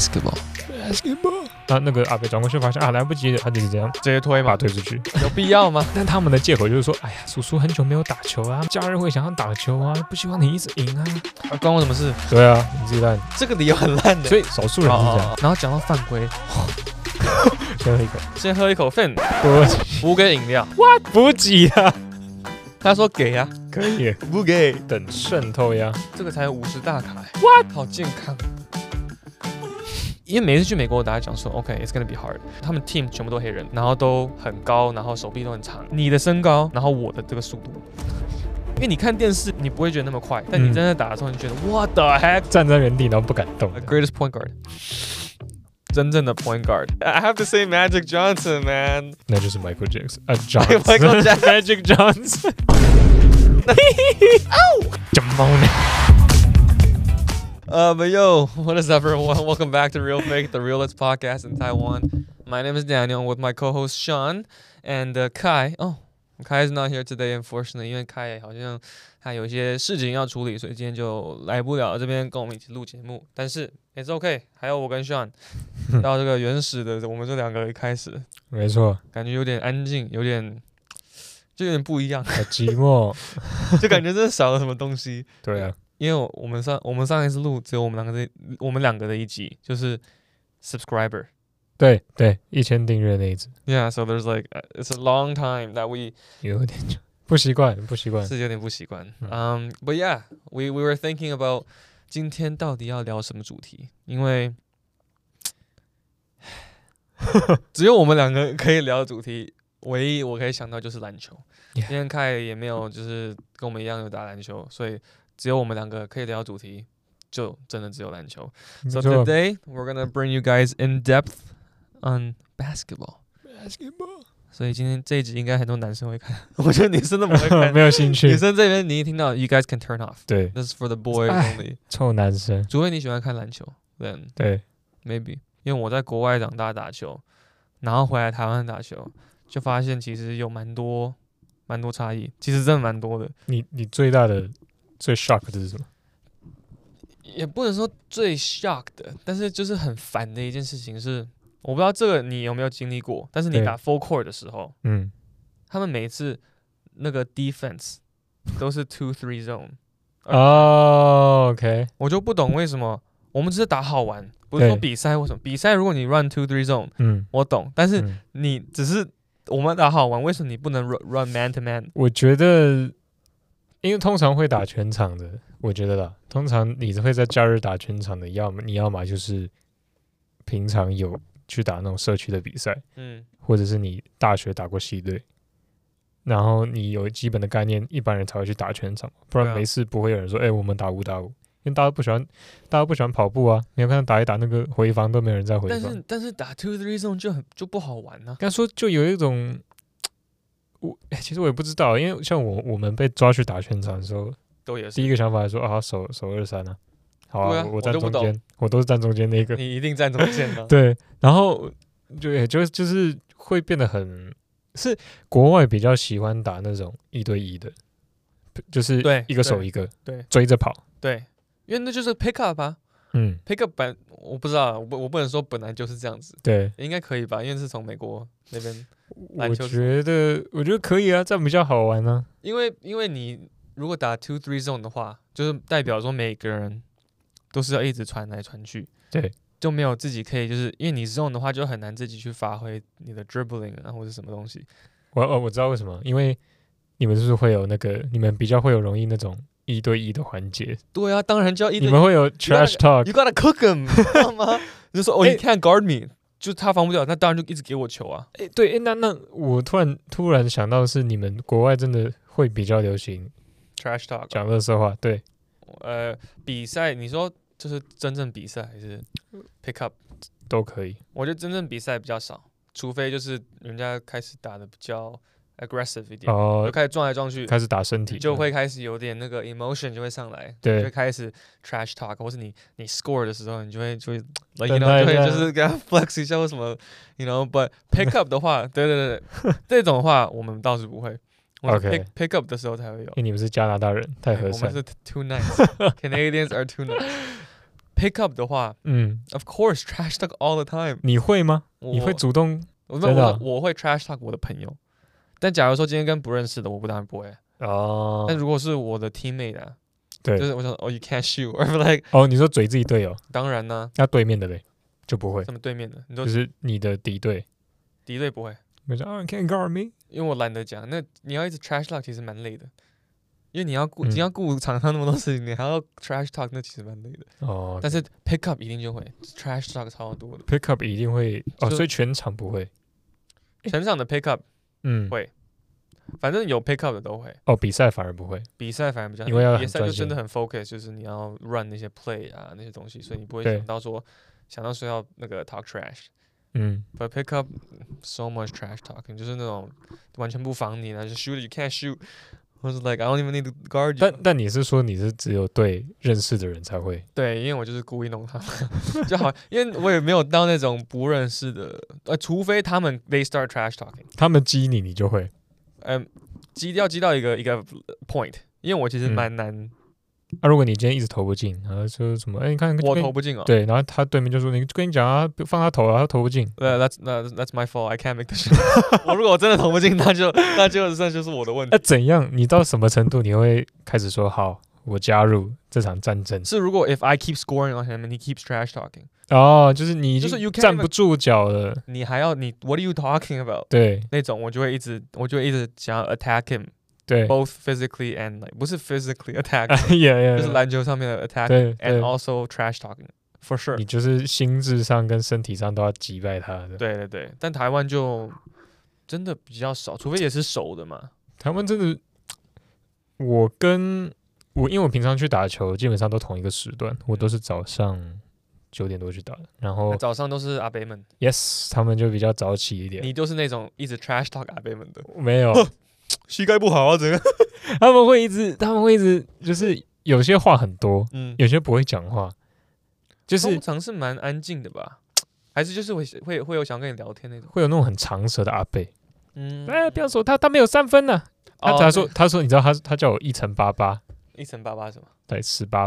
basketball。 那個阿北轉過去發現來不及了，他就是這樣直接推嘛， 把他推出去， 有必要嗎？ 但他們的借口就是說，哎呀，叔叔很久沒有打球啊，假日會想要打球啊，不希望你一直贏啊， 關我什麼事？ 對啊，你自己爛， 這個理由很爛的， 所以少數人是這樣。 然後講到犯規，先喝一口 Fin， 補給飲料， 哇，補給啊！ 他說給啊， 可以， 不給等滲透呀， 這個才50大卡，哇，好健康。因為每次去美國，大家講說 ，OK，it's gonna be hard。他們 team 全部都黑人，然後都很高，然後手臂都很長。你的身高，然後我的這個速度，因為你看電視，你不會覺得那麼快，但你真的打的時候，你覺得 What the heck？ 站在原地然後不敢動。 The greatest point guard， 真正的 point guard。I have to say Magic Johnson, man。 那就是 Michael Jackson，Michael Jackson，Magic Johnson。怎麼呢？ But yo, what is up, everyone? Welcome back to Real Fake, the realest podcast in Taiwan. My name is Daniel, with my co-host Sean and Kai. Oh, Kai is not here today, unfortunately. 因為 Kai 好像他有一些事情要處理，所以今天就來不了這邊跟我們一起錄節目。但是 it's okay， 還有我跟 Sean 到這個原始的我們這兩個一開始， 沒錯， 感覺有點安靜，有點不一樣， 好寂寞， 就感覺真的少了什麼東西。 對啊。 因為我們上一次錄只有我們兩個的一集，就是 subscriber， 對，1000訂閱那一集。 Yeah, so there's like it's a long time that we 有點不習慣， 是有點不習慣。But yeah, we were thinking about 今天到底要聊什麼主題，因為只有我們兩個可以聊的主題，唯一我可以想到就是籃球。因為凱也沒有就是跟我們一樣有打籃球，所以只有我們兩個可以聊主題，就真的只有籃球。So today we're gonna bring you guys in depth on basketball. 所以今天這一集應該很多男生會看，我覺得女生都不會看， 沒有興趣。 女生這邊你一聽到 you guys can turn off. 對 ，This is for the boys only. 臭男生， 除非你喜歡看籃球 ，then 對 maybe. 因為我在國外長大打球，然後回來台灣打球，就發現其實有蠻多差異，其實真的蠻多的。 你最大的最 shock 的是什麼？ 也不能說最 shock 的，但是就是很煩的一件事情是，我不知道這個你有沒有經歷過，但是你打 full court 的時候，他們每一次那個 defense 都是 2-3 zone。 OK， 我就不懂為什麼，我們只是打好玩，不是說比賽或什麼。比賽如果你 run 2-3 zone，我懂，但是你只是我們打好玩，為什麼你不能 run man to man？ 我覺得。因為通常會打全場的，我覺得啦，通常你會在假日打全場的，你要麼就是平常有去打那種社區的比賽，或者是你大學打過系隊，然後你有基本的概念，一般人才會去打全場，不然沒事不會有人說，我們打5打5，因為大家不喜歡跑步啊，你有看到打一打那個回防都沒有人在回防， 但是打 2-3 zone 就不好玩啊。 剛說就有一種。其實我也不知道，因為像我們被抓去打全場的時候，第一個想法是說守23啊，好啊，我站中間，我都是站中間那個， 你一定站中間嗎？ 對，然後就是會變得是國外比較喜歡打那種1對1的，就是一個守一個，對，追着跑，對， 因為那就是 pick up 啊，pick up 我不知道，我不能說本來就是這樣子，對，應該可以吧，因為是從美國那邊。 我覺得可以啊，這樣比較好玩啊。 因為你如果打 2-3 zone 的話，就是代表說每個人都是要一直傳來傳去，對，就沒有自己可以，就是因為你 zone 的話，就很難自己去發揮你的 dribbling 啊或者什麼東西。 我知道為什麼，因為你們是不是會有那個，你們比較會有容易那種1對1的環節。對啊，當然就要1對1。 你們會有 trash talk， you gotta cook them， 知道嗎？你就說you can't guard me。就他防不掉，那當然就一直給我球啊！ 對，那我突然想到是你們國外真的會比較流行 trash talk 講垃圾話，對， 比賽你說就是真正比賽還是 pick up 都可以。 我覺得真正比賽比較少，除非就是人家開始打的比較 aggressive 一點，就開始撞來撞去， 開始打身體， 就會開始有點那個 emotion 就會上來，對，就會開始 trash talk， 或是你 score 的時候，你就會 like you know 就會就是跟他 flex 一下或什麼 you know，but pick up 的話，對，這種的話我們倒是不會。 OK， pick up 的時候才會有。 因為你們是加拿大人，太和善。 我們是 too nice，Canadians are too nice。 pick up 的話，of course trash talk all the time。 你會嗎？你会主動？ 我会 trash talk 我的朋友，但假如說今天跟不認識的，我當然不會。哦。但如果是我的 teammate 啊， 對， 就是我想，you can't shoot，or like， 你說嘴自己隊友？當然呢。 那對面的嘞，就不會。 什麼對面的？你說就是你的敵對。 敵對不會。 你說you can't guard me， 因為我懶得講。那你要一直 trash talk 其實蠻累的。因為你要顧場上那麼多事情，你還要 trash talk， 那其實蠻累的。但是 pick up 一定就會 trash talk 超多的。 pick up 一定會所以全場不會。 全場的 pick up 會，反正有 pick up 的都會。比賽反而不會。比賽反而比較，因為比賽就真的很 focus， 就是你要 run 那些 play 啊那些東西，所以你不會想到說要那個 talk trash。But pick up so much trash talking， 就是那種完全不防你，然後就 shoot you can't shoot。或是 like I don't even need to guard you。但你是說你是只有對認識的人才會？ 對，因為我就是故意弄他們就好，因為我也沒有到那種不認識的，除非他們 they start trash talking， 他們激你就會， 激到一個 point， 因為我其實蠻難。 如果你今天一直投不進，然後說什麼？你看我投不進哦。 對，然後他對面就說：“你跟你講啊，放他投啊，他投不進。” That's my fault. I can't make the shot。我如果真的投不進，那就是我的問題。 怎樣？你到什麼程度你會開始說好？我加入這場戰爭？ 是如果 if I keep scoring on him and he keeps trash talking。 就是你就是站不住腳了。你 What are you talking about？ 對， 那種我就會一直想要 attack him。 對 ，both physically and like 不是 physically attack， 就是籃球上面的 attack and also trash talking for sure。 你就是心智上跟身體上都要擊敗他的。 對对對，但台灣就真的比較少，除非也是熟的嘛。 台灣真的，因為我平常去打球，基本上都同一個時段，我都是早上9點多去打的，然後早上都是阿伯們 ，yes， 他們就比較早起一點。 你都是那種一直 trash talk 阿伯們的？ 沒有。 膝蓋不好啊，整個他們會一直，就是有些話很多，有些不會講話，就是通常是蠻安靜的吧，還是就是會有想跟你聊天那種， 會有那種很長舌的阿伯，不要說他沒有3分呢，他說你知道他叫我1×88，1×88 什麼？ 對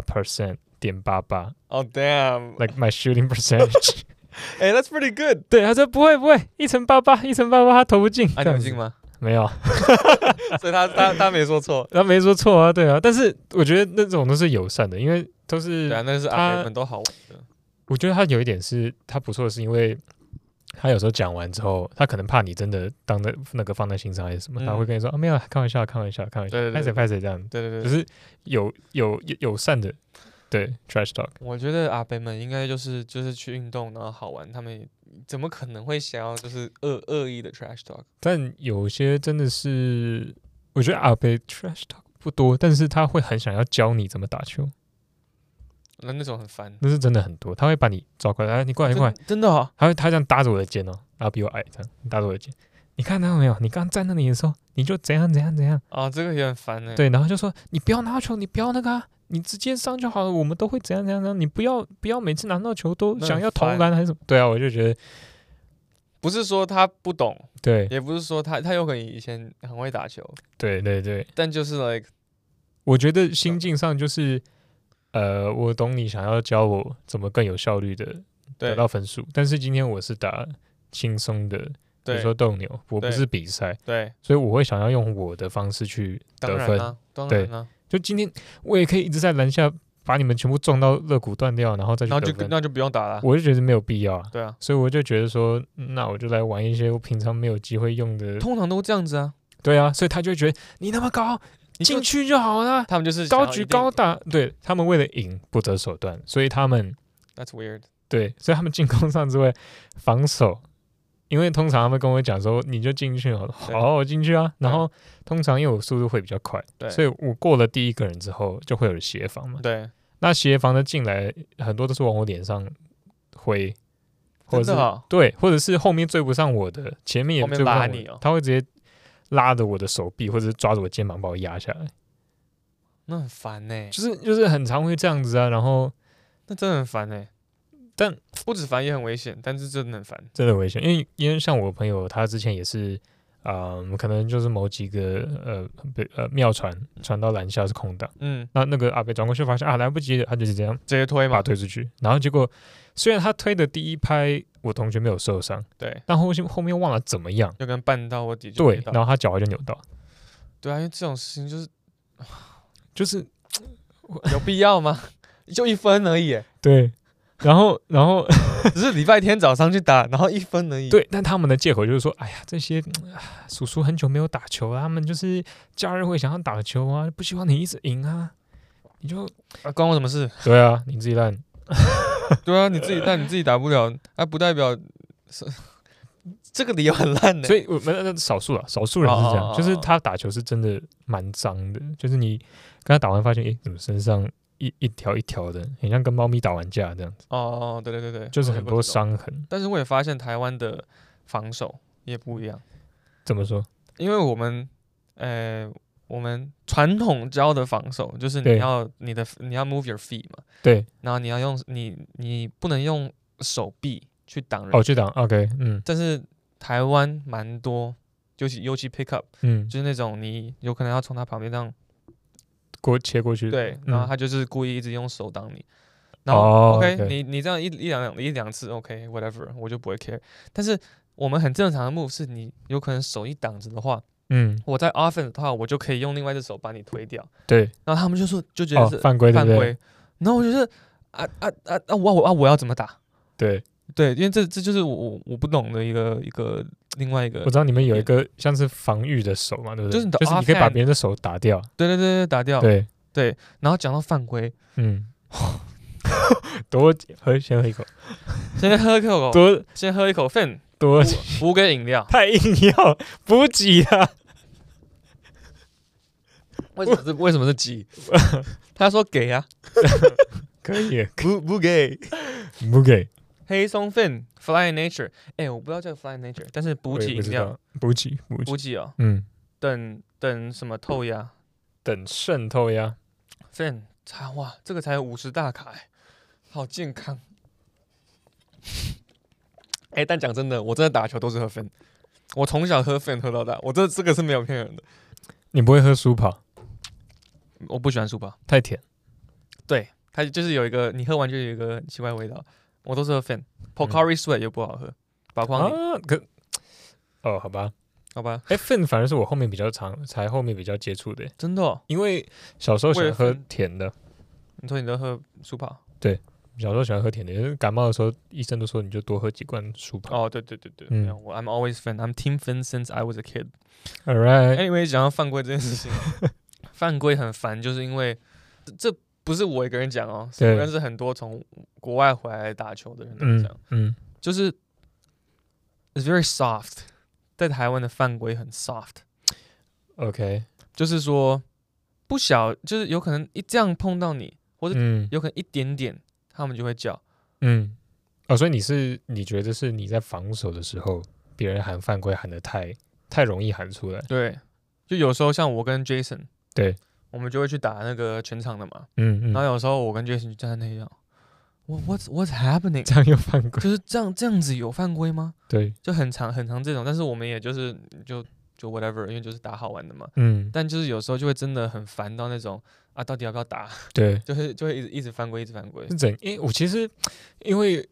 ，18%.88。 Oh damn！Like my shooting percentage。 That's pretty good。 對，他說不會，1×88，1×88，他投不進。 你有進嗎？ 沒有， 所以他沒說錯， 他沒說錯啊，對啊，但是我覺得那種都是友善的，因為都是對啊，那是阿伯們都好玩的。 我覺得他有一點是他不錯的是，因為他有時候講完之後，他可能怕你真的當那個放在心上還是什麼，他會跟你說沒有，開玩笑，拍誰這樣， 對， 就是友善的，對 trash talk。 我覺得阿伯們應該就是去運動然後好玩，他們怎麼可能會想要就是惡意的 trash talk？ 但有些真的是，我覺得阿伯 trash talk 不多，但是他會很想要教你怎麼打球。 那種很煩， 那是真的很多，他會把你抓過來，你過來， 真的啊， 他這樣搭着我的肩哦，然後比我矮，這樣搭着我的肩。你看到沒有？你剛站那裡的時候，你就怎樣。 這個也很煩哎。 對，然後就說你不要拿球，你不要那個啊。你直接上就好了，我們都會怎樣，你不要每次拿到球都想要投籃還是什麼？對啊，我就覺得不是說他不懂， 對， 也不是說他有可能以前很會打球， 對， 但就是 like， 我覺得心境上就是我懂你想要教我怎麼更有效率的得到分數，但是今天我是打輕鬆的，比如說鬥牛，我不是比賽， 對， 所以我會想要用我的方式去得分， 當然啊。 就今天我也可以一直在籃下把你們全部撞到肋骨斷掉，然後再去得分， 那就不用打了。 我就覺得沒有必要啊。 對啊， 所以我就覺得說，那我就來玩一些我平常沒有機會用的。 通常都這樣子啊。 對啊，所以他就會覺得你那麼高，進去就好了。他們就是高舉高打，對，他們為了贏不擇手段，所以他們 That's weird。 對，所以他們進攻上之外，防守。因為通常他們跟我講說，你就進去好，我進去啊。然後通常因為我速度會比較快，所以我過了第一個人之後，就會有協防嘛。 對， 那協防的進來很多都是往我臉上揮，或者是對，或者是後面追不上我的，前面也追不上我，他會直接拉着我的手臂，或者是抓着我肩膀把我壓下來。 那很煩欸， 就是很常會這樣子啊。然後那真的很煩欸。但不止煩也很危險，但是真的很煩， 真的危險。因為像我朋友，他之前也是可能就是某幾個妙傳到籃下是空檔，那個阿北轉過去發現來不及了，他就是這樣直接推嘛， 把他推出去，然後結果雖然他推的第一拍我同學沒有受傷， 對， 但後面忘了怎麼樣， 就跟絆到我底就對，然後他腳踝就扭到， 對啊，因為這種事情就是有必要嗎？就1分而已，對。 然後只是禮拜天早上去打，然後1分而已。 對，但他們的借口就是說，哎呀，這些叔叔很久沒有打球了，他們就是假日會想要打球啊，不希望你一直贏啊，你就關我什麼事？ 對啊，你自己爛。 對啊，你自己爛，你自己打不了，不代表這個理由很爛的。 所以我們少數人是這樣，就是他打球是真的蠻髒的，就是你跟他打完發現，怎麼身上一條一條的，很像跟貓咪打完架這樣子。 對， 就是很多傷痕。 但是我也發現台灣的防守也不一樣。怎麼說？ 因為我們傳統教的防守就是你要 move your feet 嘛， 對， 然後你要用你不能用手臂去擋人。 去擋 ，OK， 但是台灣蠻多，尤其 pick up，就是那種你有可能要從他旁邊這樣切過去， 對，然後他就是故意一直用手擋你，然後 OK， 你這樣一兩次 OK whatever， 我就不會 care。但是我們很正常的 move 是你有可能手一擋着的話，我在 offense 的話，我就可以用另外一隻手把你推掉，对。然後他們就覺得是犯規，然後我覺得我要怎麼打？對，因為這就是我不懂的另外一個， 我知道你們有一個像是防禦的手嘛，對不对？就是你可以把別人的手打掉。對，打掉。对。然後講到犯規，先喝一口，先喝一口 Fin， 補給飲料，太硬要補給啊！為什麼是給？他說給啊，可以，不給。黑松 Fin Fly in Nature， 我不知道叫 Fly in Nature， 但是補給飲料，補給哦，等什麼透壓？等滲透壓 ，Fin， 哇，這個才50大卡，好健康。但講真的，我真的打球都是喝 Fin， 我從小喝 Fin 喝到大，我這個是沒有騙人的。你不會喝舒跑？我不喜歡舒跑，太甜。對，它就是有一個，你喝完就有一個很奇怪的味道。我都是喝 Fin，Pocari Sweat 又不好喝，寶礦力。好吧。Fin 反而是我後面比較接觸的，真的。因為小時候喜歡喝甜的。你說你都喝舒跑？對，小時候喜歡喝甜的，因為感冒的時候醫生都說你就多喝幾罐舒跑。對，I'm always Fin，I'm Team Fin since I was a kid. Alright. Anyway， 講到犯規這件事情，犯規很煩，就是因為這。不是我一個人講哦，我認識很多從國外回來打球的人都講，就是 it's very soft， 在台灣的犯規很 soft，OK， 就是說就是有可能這樣碰到你，或者有可能一點點，他們就會叫，所以你覺得是你在防守的時候，別人喊犯規喊得太容易喊出來，對，就有時候像我跟 Jason， 對。我們就會去打那個全場的嘛，然後有時候我跟 Jason 就站在那樣，What's happening？ 這樣有犯規？就是這樣子有犯規嗎？對，就很長這種，但是我們也就是就 whatever， 因為就是打好玩的嘛，但就是有時候就会真的很煩到那種到底要不要打？對，就會一直犯規，一直犯規。我其實因為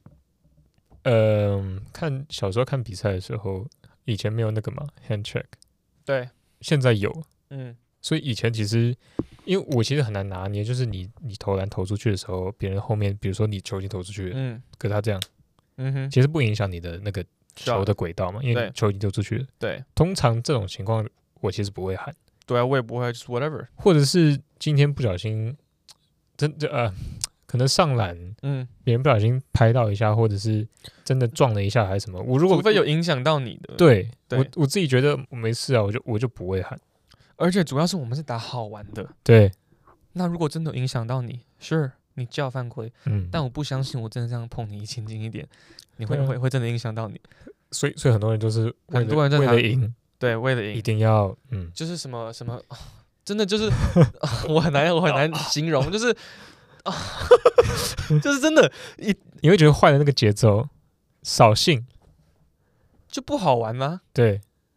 小時候看比賽的時候，以前沒有那個嘛 hand check， 對，現在有，所以以前其實，因為我其實很難拿捏，就是你投籃投出去的時候，別人後面，比如說你球已經投出去了，可是他這樣，其實不影響你的那個球的軌道嘛，因為球已經投出去了。對，通常這種情況我其實不會喊。對啊，我也不會，就是 whatever。或者是今天不小心，可能上籃，別人不小心拍到一下，或者是真的撞了一下還是什麼，除非有影響到你的，對，我自己覺得我沒事啊，我就不會喊。而且主要是我們是打好玩的，对。那如果真的影響到你 ，sure， 你叫犯規，但我不相信我真的這樣碰你輕輕一點，你會真的影響到你。所以很多人都是很多人在為了贏，對，為了贏一定要，就是什麼，真的就是我很難形容，就是就是真的，你會覺得壞了那個節奏，掃興就不好玩嗎？對。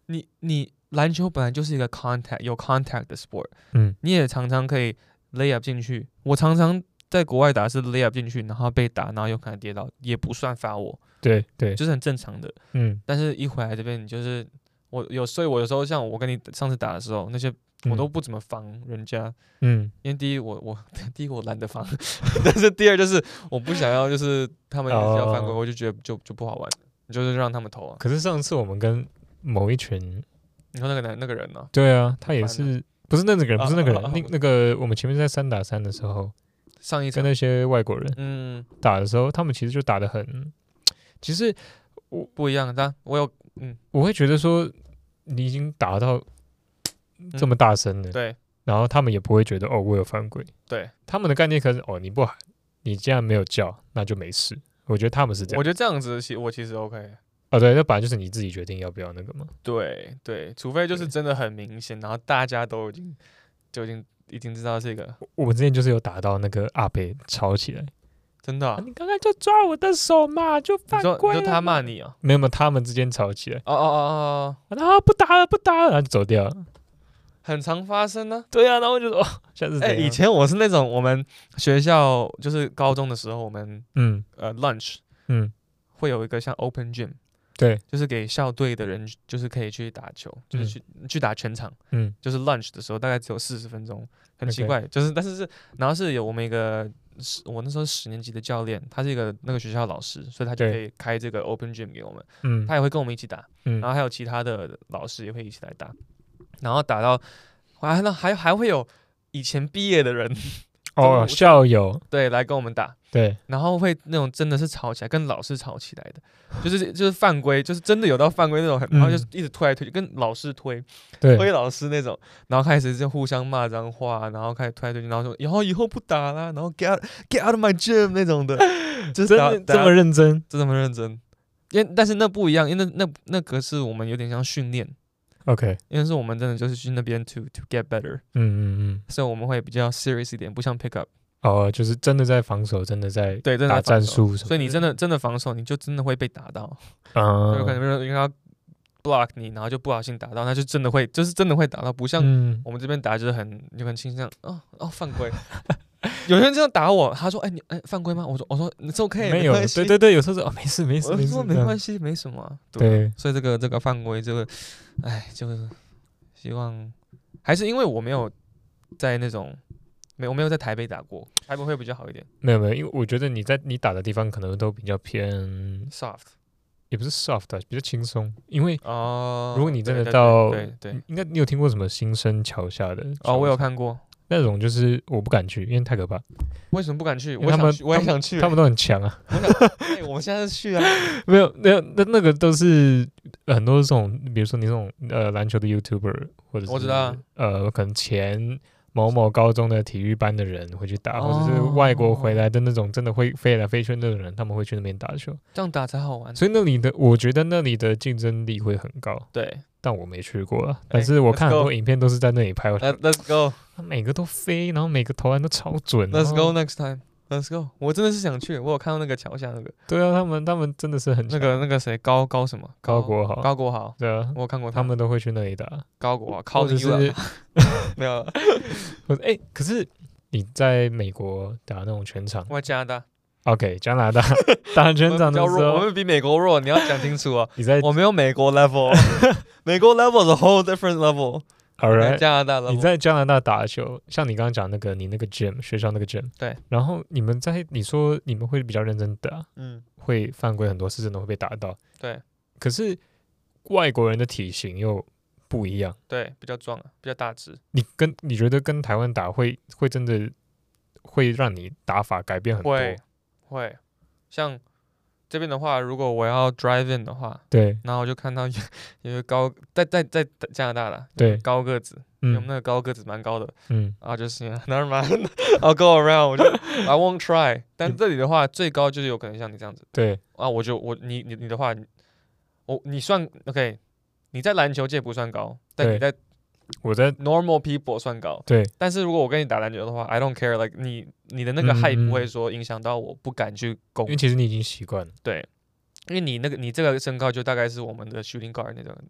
你籃球本來就是一個有 contact 的 sport， 你也常常可以 lay up 進去。我常常在國外打是 lay up 進去，然後被打，然後有可能跌倒，也不算罰我。 對， 就是很正常的。但是一回來這邊，你就是所以我有時候像我跟你上次打的時候，那些我都不怎麼防人家。因為第一我懶得防，但是第二就是我不想要，就是他們要犯規，我就覺得就不好玩，就是讓他們投啊。 可是上次我們跟某一群， 你說那個人呢？ 對啊，他也是不是那個人，不是那個人，那個我們前面在3打3的時候， 上一次跟那些外國人打的時候，他們其實就打得很。其實我不一樣，但我會覺得說你已經打到這麼大聲了， 對， 然後他們也不會覺得我有犯規， 對， 他們的概念可是你不喊，你既然沒有叫，那就沒事。我覺得他們是這樣， 我覺得這樣子我其實 OK。 對，那本來就是你自己決定要不要那個嘛。 對，除非就是真的很明顯，然後大家都已經知道這個。 我们之前就是有打到那個阿北吵起来。 真的、 你剛剛就抓我的手嘛，就犯規了。 你說他罵你啊？ 沒有，他們之間吵起來。 然後不打了，然後就走掉了。 很常發生呢、 對啊，然後我就說，下次以前我是那種我們學校就是高中的時候，我們lunch 會有一個像 open gym， 對， 就是給校隊的人就是可以去打球，就是去打全場，就是 lunch 的時候大概只有40分鐘，很奇怪，就是但是然後是有我們一個。我那時候10年級的教練，他是一個那個學校的老師，所以他就可以開這個 open gym 給我們。他也會跟我們一起打，然後還有其他的老師也會一起來打，然後打到還會有以前畢業的人校友對來跟我們打， 對， 然後會那種真的是吵起來，跟老師吵起来的，就是犯規，就是真的有到犯規那種，然後就一直推来推去，跟老師推老師那種，然後開始就互相罵髒話，然後開始推來推去，然後說以後不打啦，然後 get out of my gym 那種的，就是真的這麼認真， 這麼認真，但是那不一樣，因為那個是我們有點像訓練。 OK， 因為是我們真的就是去那邊 to get better，所以我們會比較 serious 一點，不像 pick up。 就是真的在防守，真的在打戰術， 所以你真的防守，你就真的會被打到。有可能因為他 block 你，然後就不小心打到，那就真的會打到，不像我們這邊打就是就很傾向犯規。有人這樣打我，他說你犯規嗎？我說你是 OK， 沒有，對，有時候說沒事，我說沒關係，沒什麼。 對， 所以這個犯規就是希望還是因為我沒有在那種我沒有在台北打過，台北會比較好一點。沒有，因為我覺得你打的地方可能都比較偏 soft， 也不是 soft， 比較輕鬆。因為如果你真的到對，應該你有聽過什麼新生橋下的？ 我有看過。 那種就是我不敢去，因為太可怕。 為什麼不敢去？我也想去。 他們都很強啊。 我們現在去啊。 沒有，那個都是很多這種，比如說你這種籃球的 YouTuber， 或者是我知道可能前某某高中的體育班的人會去打，或者是外國回來的那種真的會飛來飛去的人，他們會去那邊打球。這樣打才好玩。 所以我覺得那裡的競爭力會很高。對。但我沒去過啊，但是我看很多影片都是在那裡拍。 Let's go， 每個都飛，然後每個投籃都超準。 Let's go next time，Let's go。我真的是想去，我有看到那個橋下那個。 對啊，他們真的是很強。 那個誰高什麼？高國豪。對啊，我有看過他們都會去那裡打。 高國豪，靠的是沒有。 可是你在美國打那種全場？ 我在加拿大。 OK， 加拿大打全場的時候， 我們比美國弱，你要講清楚啊！我沒有美國 level， 美國 level is a whole different level。Alright， 加拿大 level。 你在加拿大打球，像你剛剛講你那個 gym 學校那個 gym， 對。然後你說你們會比較認真打，會犯規很多次，真的會被打到。對。可是外國人的體型又不一樣，對，比較壯，比較大只。你覺得跟台灣打會真的會讓你打法改變很多？會，像這邊的話，如果我要 drive in 的話，對，然後我就看到有個高在加拿大的，對，高個子，我們那個高個子蠻高的，然後就是 never mind，I'll go around， 我就 I won't try。但這裡的話，最高就是有可能像你這樣子，對，你的話，你算 OK， 你在籃球界不算高，但你在我在 normal people 算高，對，但是如果我跟你打籃球的話 ，I don't care，like 你的那個 height 不會說影響到我不敢去攻，因為其實你已經習慣了，對，因為你這個身高就大概是我們的 shooting guard 那種，哇，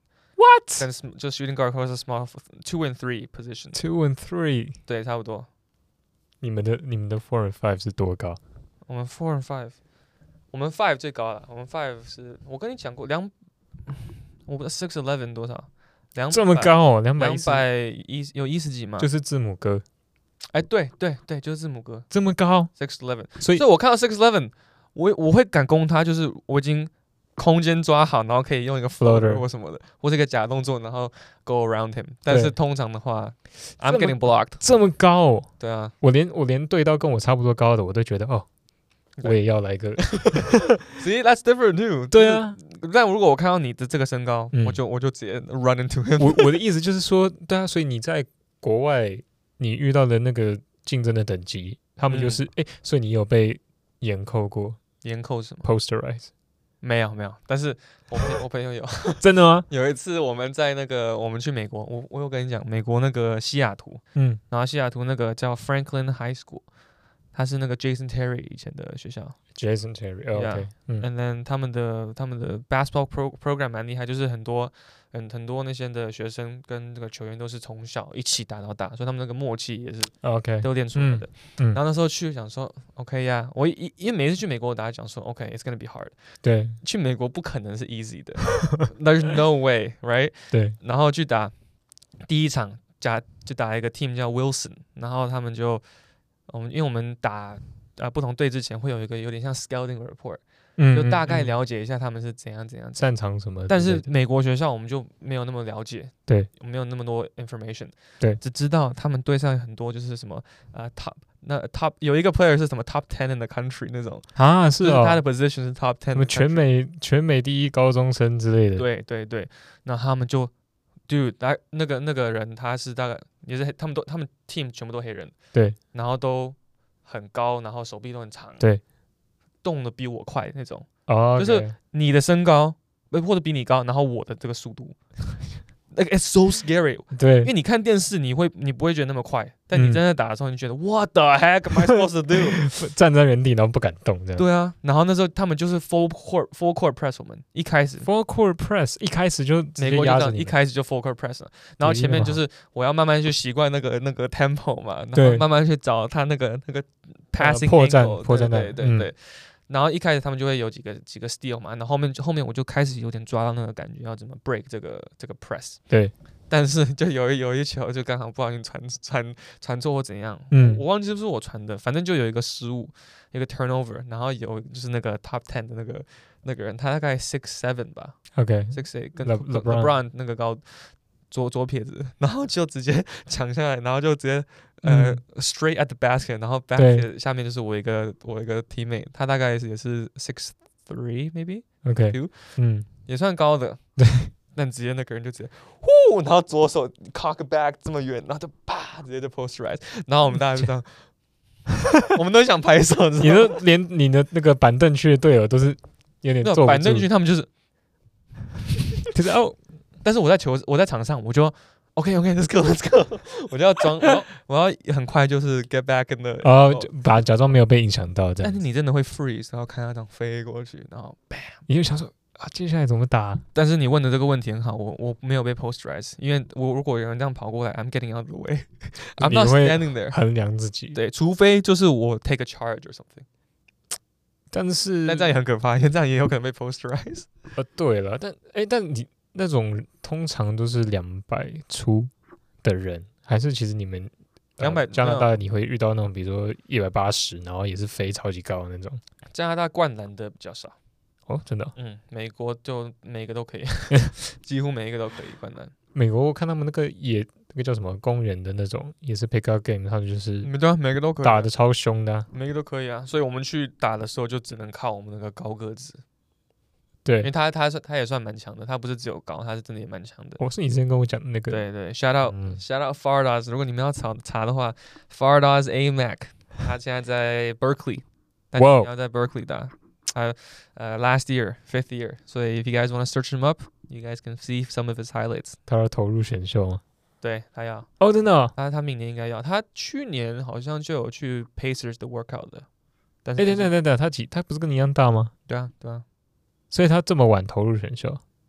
What？ 跟就 shooting guard 或者是 small 2 and 3 position。 2 and 3， 对，差不多。 你们的4 and 5是多高？ 我们4 and 5，我们5最高了。我們5是我跟你講過我們6'11" 多少？200 這麼高哦，210 有10幾嘛？ 就是字母哥。 哎，對，就是字母哥。 這麼高 6'11", 所以我看到 6'11", 我會敢攻他，就是我已經空間抓好，然後可以用一個 floater 或什麼的，或是一個假動作，然後 go around him。但是通常的話 ，I'm getting blocked。 這麼高哦？ 對啊， 我連對到跟我差不多高的，我都覺得哦，我也要來個。 See, that's different too。 對啊， 但如果我看到你的這個身高，我就直接 run into him。 我的意思就是說，對啊，所以你在國外你遇到的那個競爭的等級，他們就是所以你有被嚴扣過？ 嚴扣什麼 ？Posterize。 沒有，但是我朋友有。 真的嗎？ 有一次我們在那個我們去美國，我有跟你講美國那個西雅圖，然後西雅圖那個叫 Franklin High School， 它是那個 Jason Terry 以前的學校。 Jason Terry，OK，and then 他們的 basketball program 蠻厲害，就是很多那些的學生跟這個球員都是從小一起打到大，所以他們那個默契也是都練出來的。然後那時候去想說 OK 呀，我因為每次去美國我大家講說 OK it's gonna be hard， 對，去美國不可能是 easy 的，There's no way right， 對，然後去打第一場就打一個 team 叫 Wilson， 然後他們就因為我們打不同隊之前會有一個有點像 scouting report。就大概了解一下他們是怎樣擅長什麼， 但是美國學校我們就沒有那麼了解，對，沒有那麼多 information， 對，只知道他們隊上很多就是什麼top 有一個 player 是什麼 top 10 in the country 那種啊，是哦，就是他的 position 是 top 10，什麼全美第一高中生之類的， 對，那他們就 dude 那個人他是大概也是他們 team 全部都黑人，對，然後都很高，然後手臂都很長，對。動得比我快那種，就是你的身高或者比你高，然後我的這個速度，it's so scary。對，因為你看電視，你不會覺得那麼快，但你真的打的時候，你覺得 What the heck am I supposed to do？ 站在原地然後不敢動，這樣。對啊，然後那時候他們就是 full court press， 我們一開始 full court press， 一開始就直接壓着你， 一開始就 full court press 了，然後前面就是我要慢慢去習慣那個 tempo 嘛，然後慢慢去找他那個 passing angle， 破綻，對。然後一開始他們就會有幾個 steal 嘛，然後後面我就開始有點抓到那個感覺，要怎麼 break 這個 press。對，但是就有一球就剛好不小心傳錯或怎樣，我忘記是不是我傳的，反正就有一個失誤，一個 turnover， 然後有就是那個 top 10的那個人，他大概 6'7" 吧 ，6'8" 跟 LeBron 那個高左撇子，然後就直接搶下來，然後就直接straight at the basket， 然後 basket 下面就是我一個 teammate， 他大概也是 6'3" maybe，OK， 也算高的，對，但直接那個人就直接呼，然後左手 cock back 這麼遠，然後就啪直接就 posterize， 然後我們大家就這樣，我們都想拍手， 你都連你的那個板凳區的隊友都是有點坐不住， 板凳區他們就是但是我在場上，我就 OK，let's go， 我就要裝，我要很快就是 get back in the， 就假裝沒有被影響到這樣。 但是你真的會 freeze， 然後看他這樣飛過去，然後 bam， 你就想說接下來怎麼打？ 但是你問的這個問題很好，我沒有被 posterize， 因為如果有人這樣跑過來 ，I'm getting out of the way，I'm not standing there， 衡量自己。 對，除非就是我 take a charge or something。但這樣也很可怕，因為這樣也有可能被 posterize。 對了，但你。那種通常都是200出的人，還是其實你們200加拿大你會遇到那種，比如說180，然後也是飛超級高的那種。 加拿大灌籃的比較少哦，真的。 美國就每個都可以，幾乎每一個都可以灌籃。 美國我看他們那個叫什麼公園的那種，也是 pick up game， 他們就是對啊，每個都可以打得超兇的， 每個都可以啊。所以我們去打的時候就只能靠我們那個高個子。 對， 因為他也算蠻強的，他不是只有高，他是真的也蠻強的。 是你之前跟我講的那個。對 ，shout out Fardaws， 如果你們要查的話 ，Fardaws AMAC， 他現在在 Berkeley， 但你要在 Berkeley 打，last year 5th year， 所以 if you guys want to search him up，you guys can see some of his highlights。 他要投入選秀嗎？ 對，他要。 真的。 他明年應該要，他去年好像就有去 Pacers 的 workout 的。但是等，他不是跟你一樣大嗎？ 對啊。 所以他這麼晚投入選秀，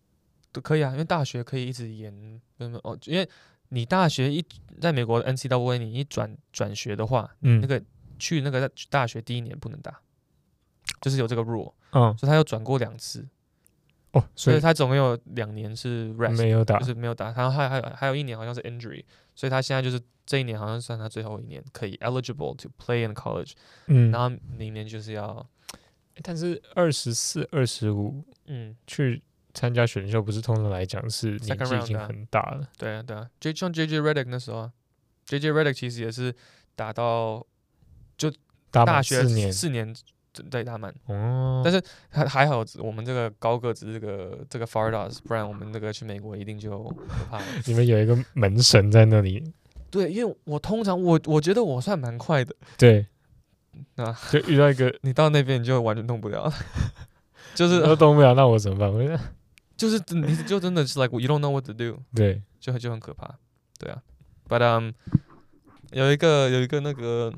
都可以啊，因為大學可以一直延，因為你大學在美國的 NCAA 你一轉學的話，那個去那個大學第一年不能打，就是有這個 rule，所以他又轉過2次。所以他總共有2年是 rest， 沒有打， 就是沒有打。然後還有1年好像是 injury， 所以他現在就是這一年好像算他最後1年可以 eligible to play in college。然後明年就是要， 但是24、25，去參加選秀不是通常來講是年紀已經很大了。 對啊，像 JJ Redick 那時候啊 ，JJ Redick 其實也是打到就大學4年。對，打滿但是還好，我們這個高個子這個 Fardas， 不然我們那個去美國一定就可怕了。 你們有一個門神在那裡。 對，因為我通常我覺得我算蠻快的。 對，就遇到一個你到那邊你就完全動不了，就是都動不了，那我怎麼辦？ 就是你就真的是 like you don't know what to do， 對， 就很可怕。对啊 ，but 有一個那個。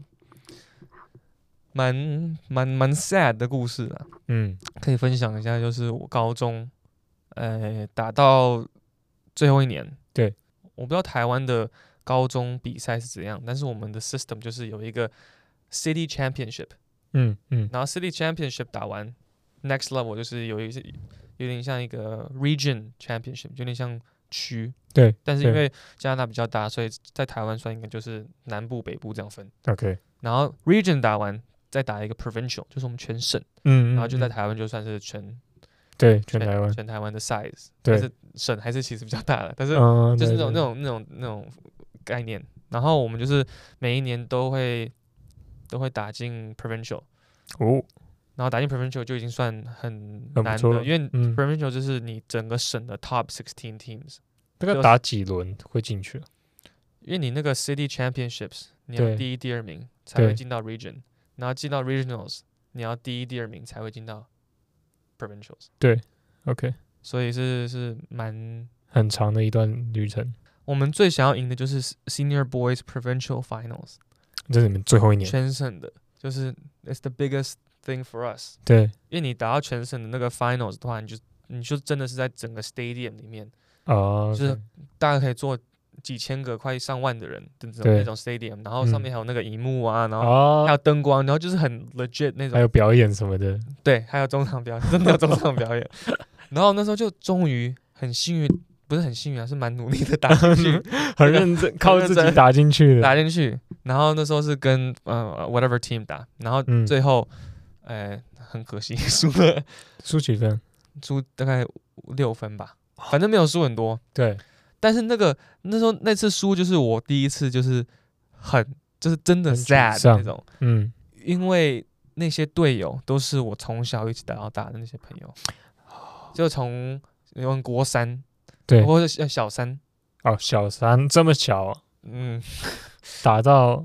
蠻 sad 的故事啊，可以分享一下，就是我高中，打到最後1年， 對， 我不知道台灣的高中比賽是怎樣，但是我們的 system 就是有一個 city championship，然後 city championship 打完 ，next level 就是有點像一個 region championship， 有點像區， 對， 但是因為加拿大比較大，所以在台灣算應該就是南部北部這樣分 ，OK， 然後 region 打完。再打一個 provincial， 就是我們全省，然後就在台灣就算是全台灣的 size， 但是省還是其實比較大的，但是就是那種概念。然後我們就是每一年都會打進 provincial， 然後打進 provincial 就已經算很難的，因為 provincial 就是你整個省的 top 16 teams。 大概打幾輪會進去？ 因為你那個 city championships， 你要第1、第2名才會進到 region。然後進到 regionals， 你要第1、第2名才會進到 provincials。對 ，OK， 所以是很長的一段旅程。 我們最想要贏的就是 Senior Boys Provincial Finals， 這是你們最後1年全省的，就是 it's the biggest thing for us。 對， 因為你打到全省的那個 finals 的話，你就真的是在整個 stadium 裡面，就是大概可以坐幾千個快上萬的人的那種 stadium， 然後上面還有那個熒幕啊，然後還有燈光，然後就是很 legit 那種， 還有表演什麼的， 對，還有中場表演，真的有中場表演。然後那時候就終於很幸運，不是很幸運啊，是蠻努力的打進去， 很認真，靠自己打進去的， 打進去。然後那時候是跟whatever team 打，然後最後很可惜輸了， 輸幾分？ 輸大概6分吧，反正沒有輸很多。 對。 但是那次輸就是我第一次就是就是真的 sad 那種，因為那些隊友都是我從小一起打到大的那些朋友，就從國3，對，或者小3， 小3這麼小，打到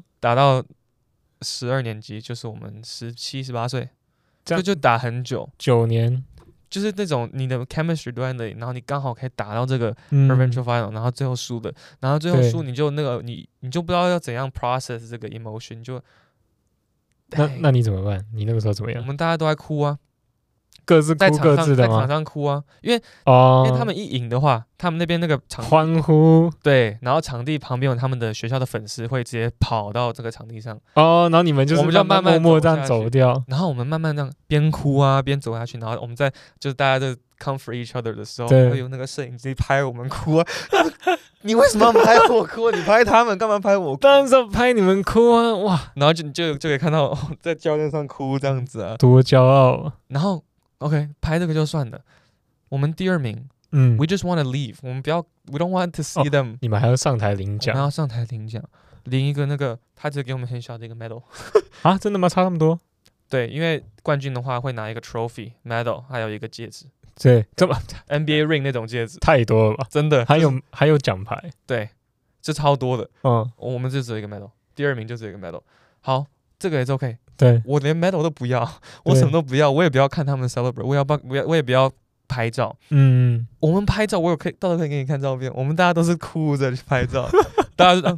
12年級，就是我們17、18歲，就打很久 ，9年。 就是那種你的 chemistry 都在那裡，然後你剛好可以打到這個 provincial final，然後最後輸的，然後最後輸你就那個你就不知道要怎樣 process 這個 emotion， 就那你怎麼辦？你那個時候怎麼樣？ 我們大家都在哭啊， 各自哭各自的嗎？ 在場上哭啊，因為他們一贏的話，他們那邊那個場地歡呼， 對，然後場地旁邊有他們的學校的粉絲會直接跑到這個場地上， 然後你們就是慢慢默默這樣走掉， 然後我們慢慢這樣邊哭啊邊走下去，然後我們在就是大家在 comfort each other 的時候，會有那個攝影機拍我們哭啊，你為什麼要拍我哭？你拍他們幹嘛拍我哭？ 當然是拍你們哭啊，哇！ 然後就可以看到在教練上哭這樣子啊， 多驕傲。 然後 OK 拍這個就算了，我們第2名。We just want to leave， 我們不要 ，We don't want to see them。 你們還要上台領獎？ 我們要上台領獎，領一個那個，他只給我們很小的一個 medal。 啊，真的嗎？差那麼多？ 對，因為冠軍的話會拿一個 trophy、medal， 還有一個戒指。 對，這麼 NBA ring 那種戒指， 太多了吧？ 真的， 還有獎牌。 對，這超多的。我們就只有一個 medal， 第2名就只有一個 medal。好，這個也是 OK。對，我連 medal 都不要，我什麼都不要，我也不要看他們 celebrate， 我也不要拍照。我們拍照，到时候可以給你看照片。我們大家都是哭着去拍照，大家就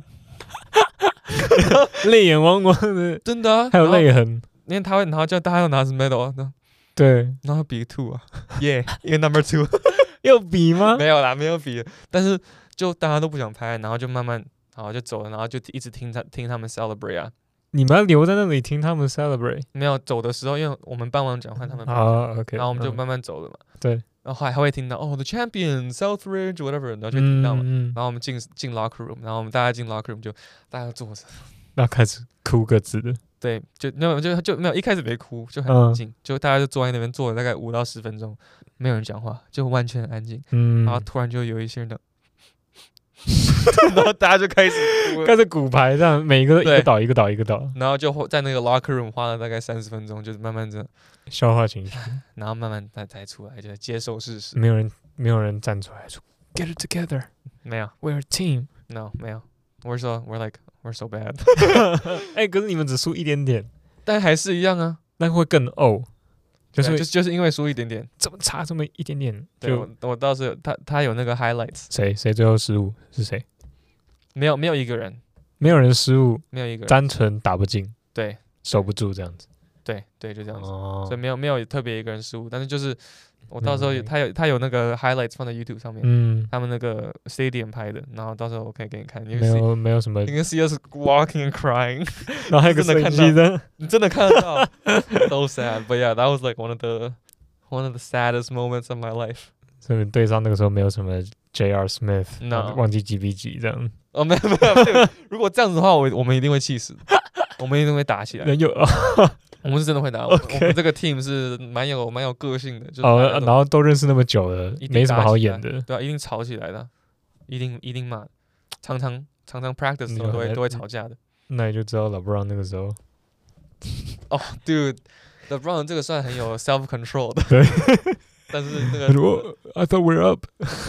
淚眼汪汪的， 真的啊， 還有淚痕。 因為他會，然後叫大家要拿着 medal， 對，然後比 2 啊，耶，一個 number 2， 有比嗎？ 沒有啦，沒有比，但是就大家都不想拍，然後就慢慢，然後就走了，然後就一直聽他們 celebrate 啊。 你們要留在那裡聽他們 celebrate？ 沒有走的時候，因為我們办完講話，他們 OK， 然後我們就慢慢走了嘛。 對， 然後還會聽到the champion Southridge whatever， 然後就聽到嘛。然後我們進 locker room，然後我們大家進 locker room 就大家坐着， 然後開始哭各自的。對， 就沒有一開始沒哭，就很安靜，就大家就坐在那邊坐了大概5到10分鐘，沒有人講話，就完全安靜。然後突然就有一些人的。然後大家就開始骨牌，這樣每一個都一個倒一個倒一個倒， 然後就在那個 locker room 花了大概30分鐘，就是慢慢這樣消化情緒，然後慢慢才出來，就接受事實。 沒有人站出來說 Get it together， 沒有 ，We're a team， No， 沒有 we're so bad 可是你們只輸一點點， 但還是一樣啊， 那會更就是因為輸一點點， 這麼差這麼一點點。 對，我倒是有他有那個 highlights。 誰最後失誤是誰？ 沒有一個人， 沒有人失誤， 沒有一個人， 單純打不進， 對， 守不住這樣子。 对，就這樣子。所以沒有特別一個人失誤，但是就是我到時候他有那個 highlights 放在 YouTube 上面，他們那個 stadium 拍的，然後到時候我可以給你看。 沒有什麼， 你跟 see us walking and crying， 然後還有個攝影機的， 你真的看得到，so sad。But yeah, that was like one of the saddest moments of my life。 所以对上那個時候沒有什麼 J.R. Smith， 忘記幾比幾這樣。 沒有。如果這樣子的話，我們一定會氣死，我們一定會打起來。我們是真的會打，我們這個 team 是蠻有個性的，就是然後都認識那麼久了，沒什麼好演的， 對啊，一定吵起來的，一定罵，常常 practice 的時候都會吵架的。 那你就知道 LeBron 那個時候， dude，LeBron 這個算很有 self control 的， 對， 但是那個 I thought we're up，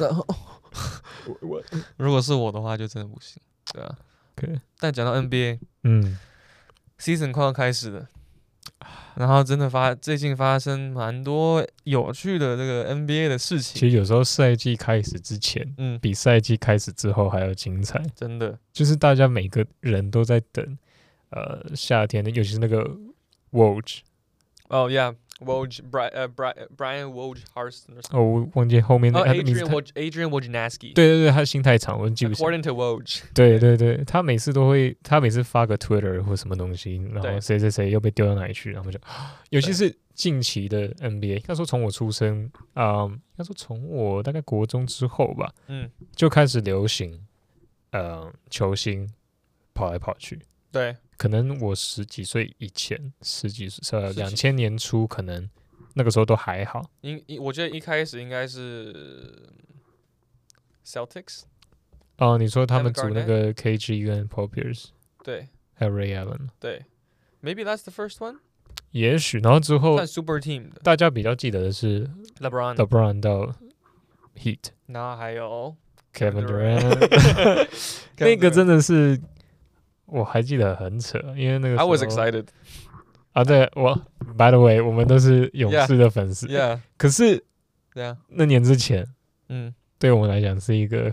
如果是我的話就真的不行，對啊。 Okay. 但講到 NBA，season 快要開始了。然後真的最近發生蠻多有趣的這個 NBA 的事情。 其實有時候賽季開始之前，比賽季開始之後還要精彩。 真的，就是大家每個人都在等，夏天的，尤其是那個 Woj。 Oh yeah。Brian Wojnarowski 我忘記後面那個 Adrian Wojnarowski。 对，他心太長，我記不清。 According to Woj。 对，他每次發個 Twitter 或什麼東西，然後誰又被丟到哪裡去，然後就，尤其是近期的 NBA， 應該說從我出生，應該說從我大概國中之後吧，就開始流行，球星跑來跑去。對。可能我10幾歲以前，2000年初，可能那個時候都還好。 我覺得一開始應該是 Celtics。 你說他們組那個 KG 跟 Paul Pierce， 對，還有 Ray Allen， 對 ，Maybe that's the first one。 也許，然後之後算 Super Team 的， 大家比較記得的是 LeBron 到 Heat， 然後還有 Kevin Durant， 那個真的是。我還記得很扯，因為那個時候 I was excited。 對，By the way， 我們都是勇士的粉絲。 Yeah。 可是，那年之前，對我們來講是一個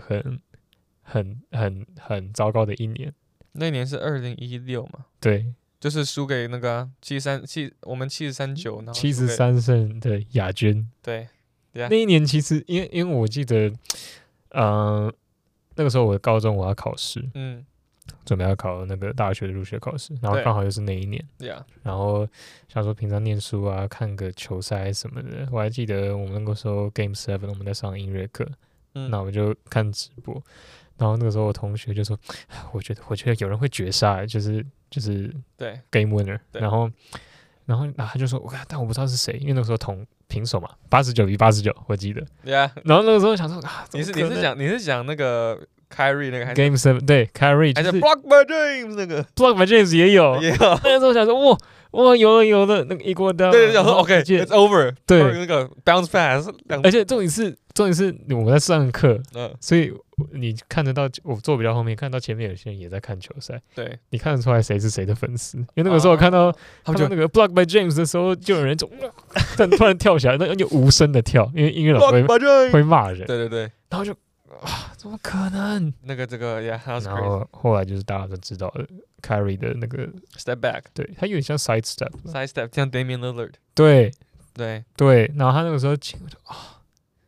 很糟糕的一年。 那年是2016嘛？對，就是輸給那個我們73-9，然後 73勝的亞軍。對，那一年其實因為我記得，那個時候我高中我要考試，準備要考那個大學的入學考試，然後剛好又是那一年，然後想說平常念書啊，看個球賽什麼的。我還記得我們那個時候 Game 7， 我們在上音樂課，那我就看直播，然後那個時候我同學就說，我覺得有人會絕殺，就是對 Game Winner， 然後他就說，但我不知道是誰，因為那個時候平手嘛，89-89，我記得，然後那個時候想說你是講那個。Kyrie 那個還是 Game 7， 對 Kyrie 還是 Block by James 那個 Block by James 也有，那個時候想說哇有的那個一鍋刀， 對，想說 OK，it's over， 對， 那個 bounce pass， 而且重點是我們在上課，所以你看得到我坐比較後面，看到前面有些人也在看球賽，對，你看得出來誰是誰的粉絲，因為那個時候我看到他們那個 Block by James 的時候，就有人就突然跳起來，那就無聲的跳，因為音樂老師會罵人，對，然後就。怎麼可能？這個 ，yeah， 然後後來就是大家都知道了 ，Kyrie 的那個 step back， 對，他有點像 side step， 像 Damian Lillard， 對，然後他那個時候我就 it's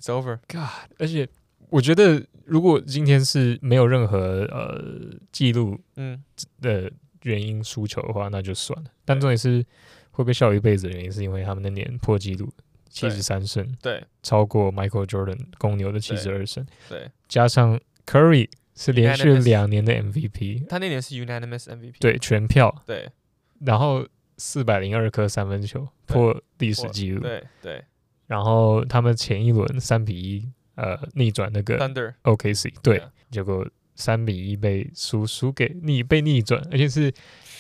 God， 而且我覺得如果今天是沒有任何記錄的原因輸球的話，那就算了。但重點是會被笑一輩子的原因，是因為他們那年破紀錄73勝， 對， 超過 Michael Jordan 公牛的72勝， 對， 加上 Curry 是連續2年的 MVP， 他那年是 unanimous MVP， 對，全票， 對， 然後402顆三分球破歷史紀錄， 對， 然後他們前一輪3-1逆轉那個 Thunder OKC， 對，結果3-1被逆轉，而且是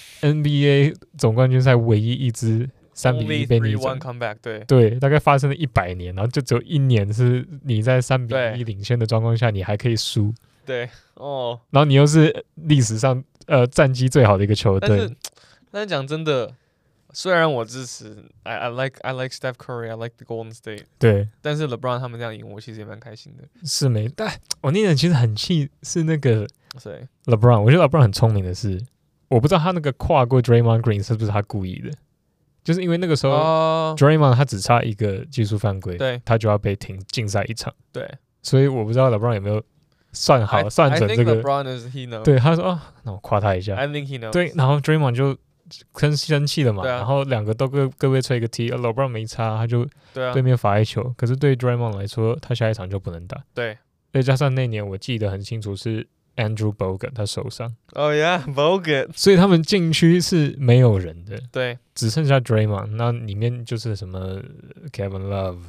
NBA 總冠軍賽唯一一支3-1被逆轉 comeback， 對，大概發生了100年，然後就只有1年是你在3-1領先的狀況下，你還可以輸， 對，哦， 然後你又是歷史上戰績最好的一個球隊， 但是講真的。雖然我支持 I like Steph Curry, I like the Golden State， 對， 但是 LeBron 他們這樣贏，我其實也蠻開心的。 是沒，但我那年其實很氣，是那個誰 LeBron， 我覺得 LeBron 很聰明的是，我不知道他那個跨過 Draymond Green 是不是他故意的，就是因為那個時候、Draymond 他只差一個技術犯規， 對， 他就要被停禁賽1場， 對， 所以我不知道 LeBron 有沒有算好算準這個 LeBron is he knows， 對，他說那我誇他一下 I think he knows， 對， 然後 Draymond 就生氣了嘛， 然後兩個都各位吹一個 T，LeBron 沒差，他就對面罰1球，可是對 Draymond 來說，他下一場就不能打， 對， 再加上那年我記得很清楚是 Andrew Bogut 他受傷 ，Oh yeah Bogut， 所以他們禁區是沒有人的， 對， 只剩下 Draymond， 那裡面就是什麼 Kevin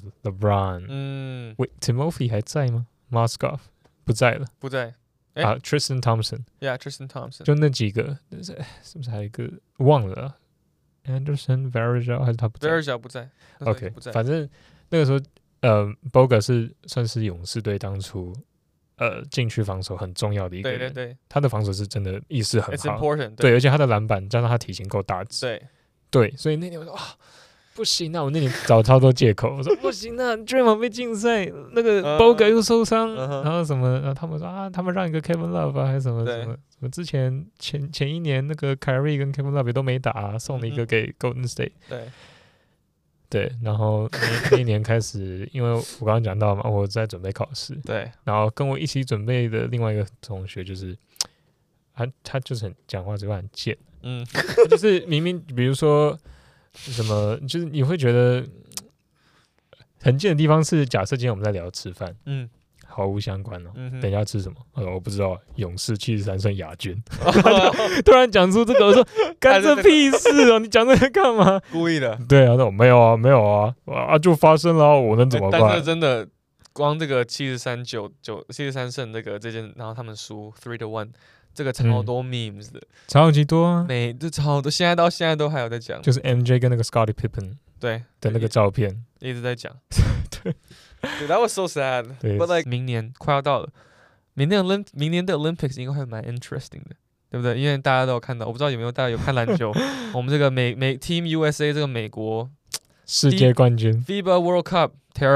Love、LeBron，喂 Timothy 還在嗎 ？Mozgov 不在了， 不在。 Tristan Thompson，Tristan Thompson， 就那幾個，是不是還有一個忘了 ？Anderson Varejao 還是他不在 ？Varejao 不在。 OK， 反正那個時候，Bogut 是算是勇士隊當初禁區防守很重要的一個人。對，他的防守是真的意識很好。對，而且他的籃板加上他體型夠大只。對，所以那年我說啊。不行啊！我那年找超多借口，我說不行啊 ，Draymond 被禁賽，那個 Bogut 又受傷，然後什麼，然後他們說啊，他們讓一個 Kevin Love 還是什麼之前前一年那個 Kyrie 跟 Kevin Love 也都沒打，送了一個給 Golden State， 對，然後那一年開始，因為我剛剛講到嘛，我在準備考試，對，然後跟我一起準備的另外一個同學就是他就是很講話嘴巴很賤，就是明明比如說。什麼？就是你會覺得很賤的地方是，假設今天我們在聊吃飯，毫無相關哦。等一下吃什麼？我不知道。勇士73勝亞軍，突然講出這個，我說幹這屁事哦！你講這個幹嘛？ 故意的。對啊，說沒有啊，就發生了，我能怎麼辦？ 但是真的，光這個73勝那個這件，然後他們輸3-1。這個超多 memes 的， 超級多啊！ 這超多，現在都還有在講， 就是 MJ 跟那個 Scottie Pippen 對的那個照片， 一直在講。對，That was so sad。But like 明年快要到了，明年的 Olympics 應該會蠻 interesting 的，對不對？因為大家都有看到，我不知道有沒有大家有看籃球，我們這個美 Team USA 這個美國世界冠軍 FIBA World Cup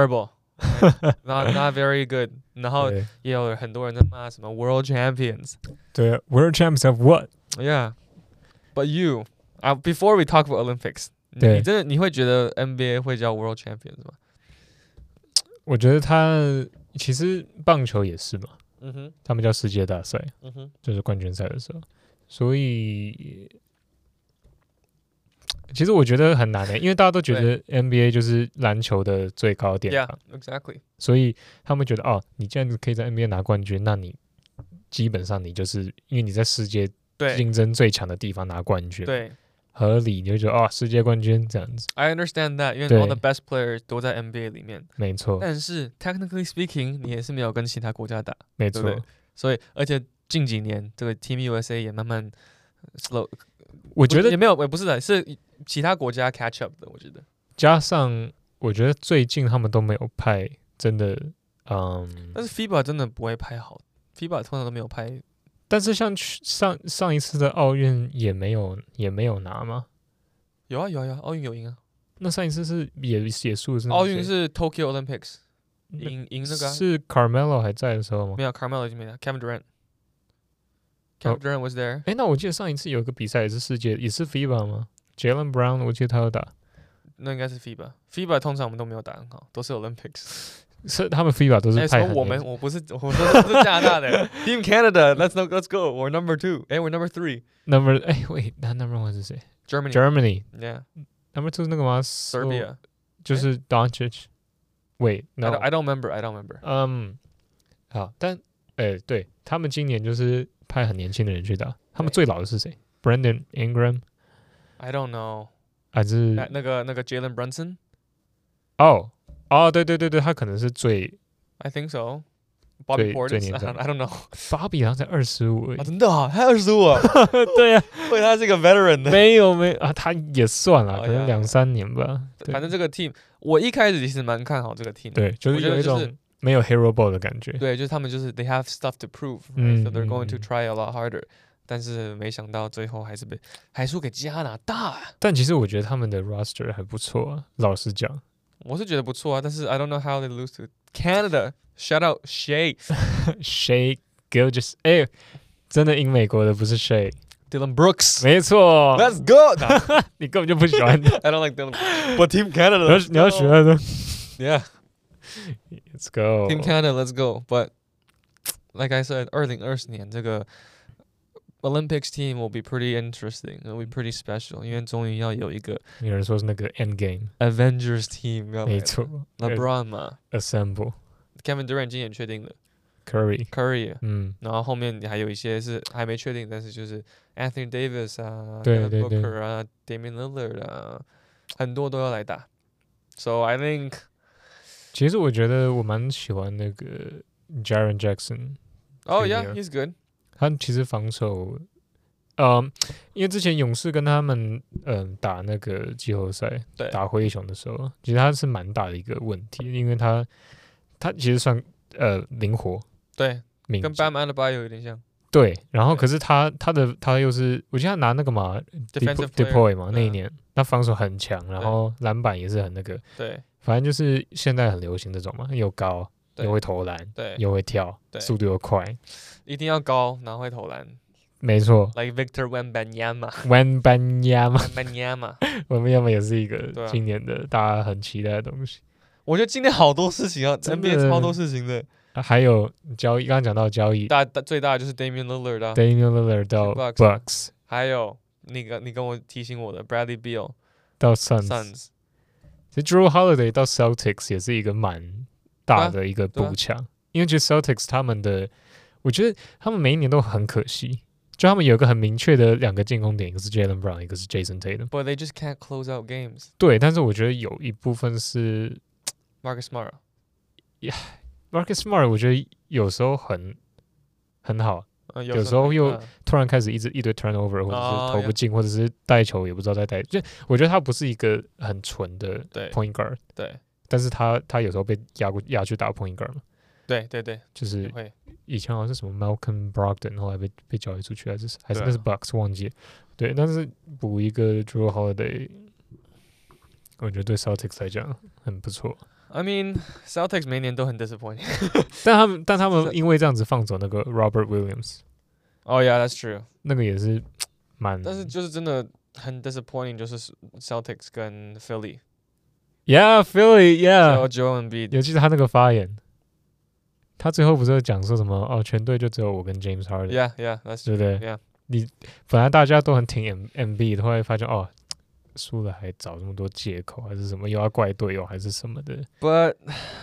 terrible。Not very good， 然後也有很多人在罵什麼 World Champions， 對 World Champions of what？ Yeah，but before we talk about Olympics， 你會覺得 NBA 會叫 World Champions 嗎？ 我覺得其實棒球也是嘛，他們叫世界大賽，就是冠軍賽的時候，所以。其實我覺得很難因為大家都覺得 NBA 就是籃球的最高殿堂 ，exactly。 所以他們覺得你既然可以在 NBA 拿冠軍，那你基本上你就是因為你在世界競爭最強的地方拿冠軍，對，合理你就覺得世界冠軍這樣子。 I understand that， 因為 all the best players 都在 NBA 裡面，沒錯。但是 technically speaking， 你也是沒有跟其他國家打，沒錯。對對，所以而且近幾年這個 Team USA 也慢慢 slow， 我覺得也沒有，不是的，是。其他國家 catch up 的，我覺得。 加上，我覺得最近他們都沒有派，真的， 但是 FIBA 真的不會派好 ，FIBA 通常都沒有派。 但是像上一次的奧運也没有拿嗎？ 有啊，奧運有贏啊。 那上一次是也輸是？ 奧運是 Tokyo Olympics， 贏那個、 是 Carmelo 還在的時候嗎？ 沒有 ，Carmelo 已經沒了 ，Kevin Durant。Kevin Durant was there。 那我記得上一次有一個比賽也是世界，也是 FIBA 嗎？ Jaylen Brown， 我記得他有打， 那應該是 FIBA。FIBA 通常我們都沒有打很好，都是 Olympics。 是他們 FIBA 都是派很我不是我說是加拿大的 Team Canada，let's go，we're number 2，we're number 3。 wait， 那 number 1是誰 ？Germany。Yeah。Number 2是那個嗎 ？Serbia。 就是 Doncic。Wait，no，I don't remember。 好，但对他們今年就是派很年輕的人去打。他們最老的是誰 ？Brandon Ingram。I don't know。 還是那個 Jalen Brunson。 對，他可能是最 I think so。Bobby Portis。I don't know。 Bobby 好像才25而已。 真的啊，他25啊？ 對啊， 所以他是一個 veteran 的。 沒有啊，他也算了，可能2-3年吧。 反正這個 team， 我一開始其實蠻看好這個 team。 對，就是有一種沒有 hero ball 的感覺。 對，就是他們就是 they have stuff to prove，so they're going to try a lot harder。但是沒想到最後還輸給加拿大。 但其實我覺得他們的 roster 還不錯啊，老實講。 我是覺得不錯啊，但是 I don't know how they lose to Canada。Shout out Shai Gilgeous， 真的贏美國的不是 Shai。Dylan Brooks， 沒錯 ，Let's go 。 你根本就不喜歡 I don't like Dylan，but Team Canada， 你要學的。 Yeah，Let's go。Team Canada，Let's go。But like I said， 2020年這個 Olympics team will be pretty interesting. It will be pretty special. 因為終於要有一個， 有人說是那個 End Game Avengers team， 沒錯 ，LeBron 嘛 ，Assemble。Kevin Durant 今年確定了 ，Curry， 然後後面還有一些是還沒確定，但是就是 Anthony Davis 啊， 對 Booker 啊 ，Damian Lillard 啊，很多都要來打。So I think， 其實我覺得我蠻喜歡那個 Jaren Jackson。Oh yeah，he's good。 他其實防守，因為之前勇士跟他們打那個季後賽，打灰熊的時候，其實他是蠻大的一個問題，因為他其實算靈活， 對，跟 Bam Adebayo 有點像， 對，然後可是他又是，我記得他拿那個嘛 deploy 嘛，那一年他防守很強，然後籃板也是很那個， 對， 反正就是現在很流行這種嘛，又高。又會投籃，又會跳，速度又快， 一定要高，然後會投籃， 沒錯。 Like Victor Wembanyama， Wembanyama 也是一個今年的大家很期待的東西。 我覺得今年好多事情啊 ，NBA 超多事情的。 還有交易，剛剛講到交易， 最大的就是 Damian Lillard 啊 ，Damian Lillard 到 Bucks， 還有你跟我提醒我的 Bradley Beal 到 Suns， 其實 Jrue Holiday 到 Celtics 也是一個蠻大的一個補強，因為其實 Celtics 他們的，我覺得他們每一年都很可惜，就他們有一個很明確的2個進攻點，一個是 Jaylen Brown， 一個是 Jason Tatum。But they just can't close out games。 對，但是我覺得有一部分是 Marcus Smart。Marcus Smart 我觉得有時候很好，有時候又突然開始一堆 turnover， 或者是投不進，或者是帶球也不知道在帶。就我覺得他不是一個很純的 point guard， 對。 但是他有時候被壓去打 point guard 嘛， 對， 就是以前好像是什麼 Malcolm Brogdon， 後來被交易出去，還是那是 Bucks 忘記了，對，但是補一個 Jrue Holiday， 我覺得對 Celtics 來講很不錯。 I mean Celtics 每年都很 disappointing， 但他們因為這樣子放走那個 Robert Williams。Oh yeah, that's true。 那個也是蠻， 但是就是真的很 disappointing， 就是 Celtics 跟 Philly。Yeah, yeah。 Joel Embiid， 尤其是他那個發言，他最後不是講說什麼全隊就只有我跟 James Harden。Yeah, that's true。對不對 ？Yeah。 你本來大家都很挺 Embiid， 後來發現輸了還找這麼多借口，還是什麼又要怪隊友還是什麼的。 But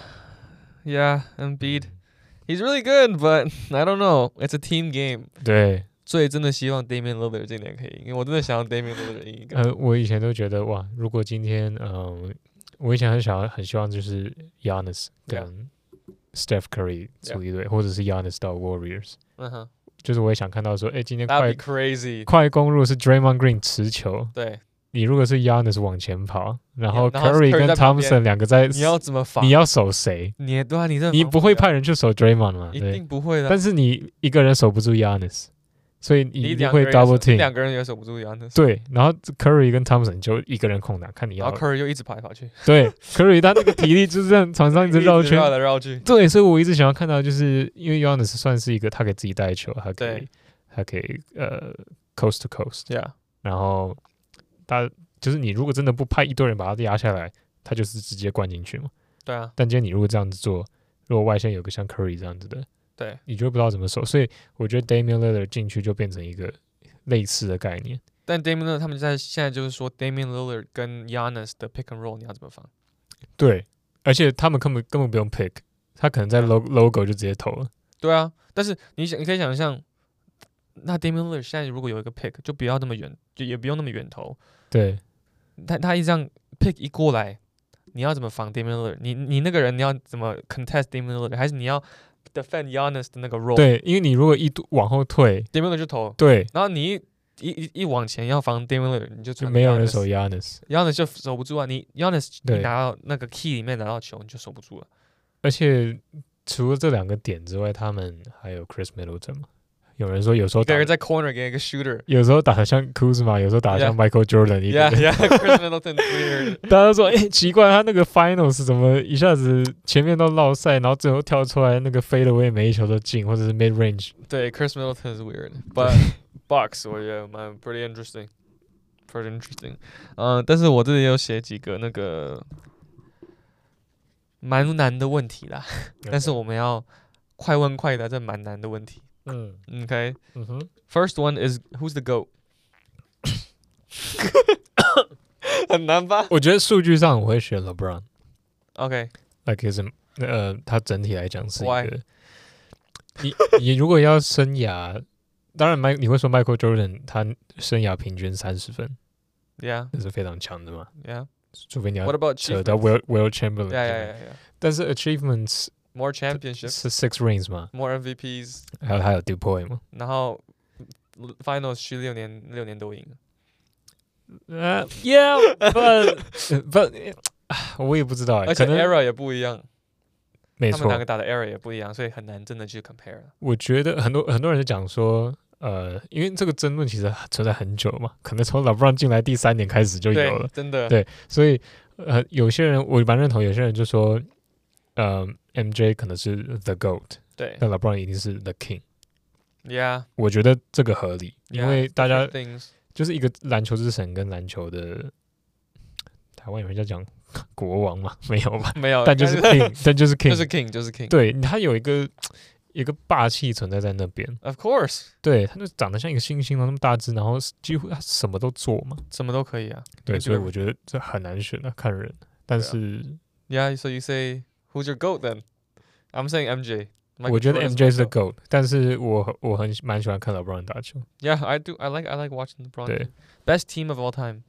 yeah, Embiid, he's really good, but I don't know. It's a team game. 對。 所以真的希望 Damian Lillard 今年可以贏，因為我真的想要 Damian Lillard 贏一個。 我以前都覺得哇，如果今天我以前很希望就是 Giannis 跟 Steph Curry 組一隊，或者是 Giannis 到 Warriors。就是我也想看到說，今天快攻如果是 Draymond Green 持球， 對。 你如果是 Giannis 往前跑，然後 Curry 跟 Thompson 兩個在， 你要怎麼防？ 你要守誰？你不會派人去守 Draymond 嗎？ 一定不會的。 但是你一個人守不住 Giannis， 所以你一定會 double team。 兩個人也守不住 Giannis。 對，然後 Curry 跟 Thompson 就一個人空檔，看你要。 然後 Curry 又一直跑來跑去。 對，Curry 他那個體力就是這樣場上一直繞圈， 繞來繞去。 對，所以我一直想要看到，就是因為 Giannis 算是一個他可以自己帶球，他可以coast to coast。然後他。就是你如果真的不派一堆人把他壓下來，他就是直接灌進去嘛。 對啊， 但今天你如果這樣子做，如果外線有個像 Curry 這樣子的， 對， 你就不知道怎麼守。所以我覺得 Damian Lillard 進去就變成一個類似的概念。 但 Damian Lillard 他們現在就是說 Damian Lillard 跟 Giannis 的 pick and roll 你要怎麼防？ 對，而且他们根本不用 pick， 他可能在 logo 就直接投了。 对啊，但是你可以想象，那 Damian Lillard 現在如果有一個 pick， 就不要那麼遠，就也不用那麼遠投。 對， 他一這樣 pick 一過來，你要怎麼防 Damian Lillard？ 你那個人你要怎麼 contest Damian Lillard？ 還是你要 defend Giannis 的那個 role？ 對，因為你如果一往後退 ，Damian Lillard 就投。 對， 然後你一往前要防 Damian Lillard， 你就沒有人守 Giannis 就守不住啊！你 Giannis 你拿到那個 key 裡面拿到球，你就守不住了。 而且除了這兩個點之外，他們還有 Chris Middleton 嘛？有人說有時候打在 corner 給一個 shooter， 有時候打得像 Kuzma， 有時候打得像 Michael Jordan 一點。 Chris Middleton weird。 大家都說奇怪，他那個 Finals 怎麼一下子前面都落賽，然後最後跳出來那個 fade away 每一球都進，或者是 mid range。 對 ，Chris Middleton is weird，but Bucks 我覺得蠻 pretty interesting。但是我這裡有寫幾個那個蠻難的問題啦，但是我們要快問快答，這蠻難的問題。Okay. First one is who's the GOAT？ 很難吧？ 我覺得數據上我會選 LeBron。OK。Like his 他整體來講是一個。你如果要生涯，當然你會說 Michael Jordan 他生涯平均30分。 Yeah。 這是非常強的嘛。 Yeah。 除非你要 What about 扯到 Will Chamberlain。 Yeah。 但是 achievements。More championships 是 6 rings 嗎 ？More MVPs， 還有 DuPoy 嗎？ 然後 Finals 去6年都贏了。 Yeah，but 我也不知道， 而且 era 也不一樣， 沒錯， 他們兩個打的 era 也不一樣，所以很難真的去 compare。 我覺得很多人就講說，因為這個爭論其實存在很久嘛，可能從 LeBron 進來第3年開始就有了， 真的， 對，所以有些人我蠻認同，有些人就說。MJ 可能是 the GOAT， 對， 但 LeBron 一定是 the King。Yeah， 我覺得這個合理，因為大家就是一個籃球之神跟籃球的台灣有人在講國王嘛？沒有吧？沒有，但就是 King， 但就是 King， 就是 King。對，他有一個霸氣存在那邊。 Of course， 對，他就長得像一個猩猩那麼大只，然後幾乎他什麼都做嘛， 什麼都可以啊。 對，所以我覺得這很難選啊，看人。但是 ，Yeah，so you say。Who's your GOAT then? I'm saying MJ. 我覺得 MJ 是 GOAT， 但是我蠻喜歡看 LeBron 打球。 Yeah, I do. I like watching LeBron. 對 ，Best team of all time.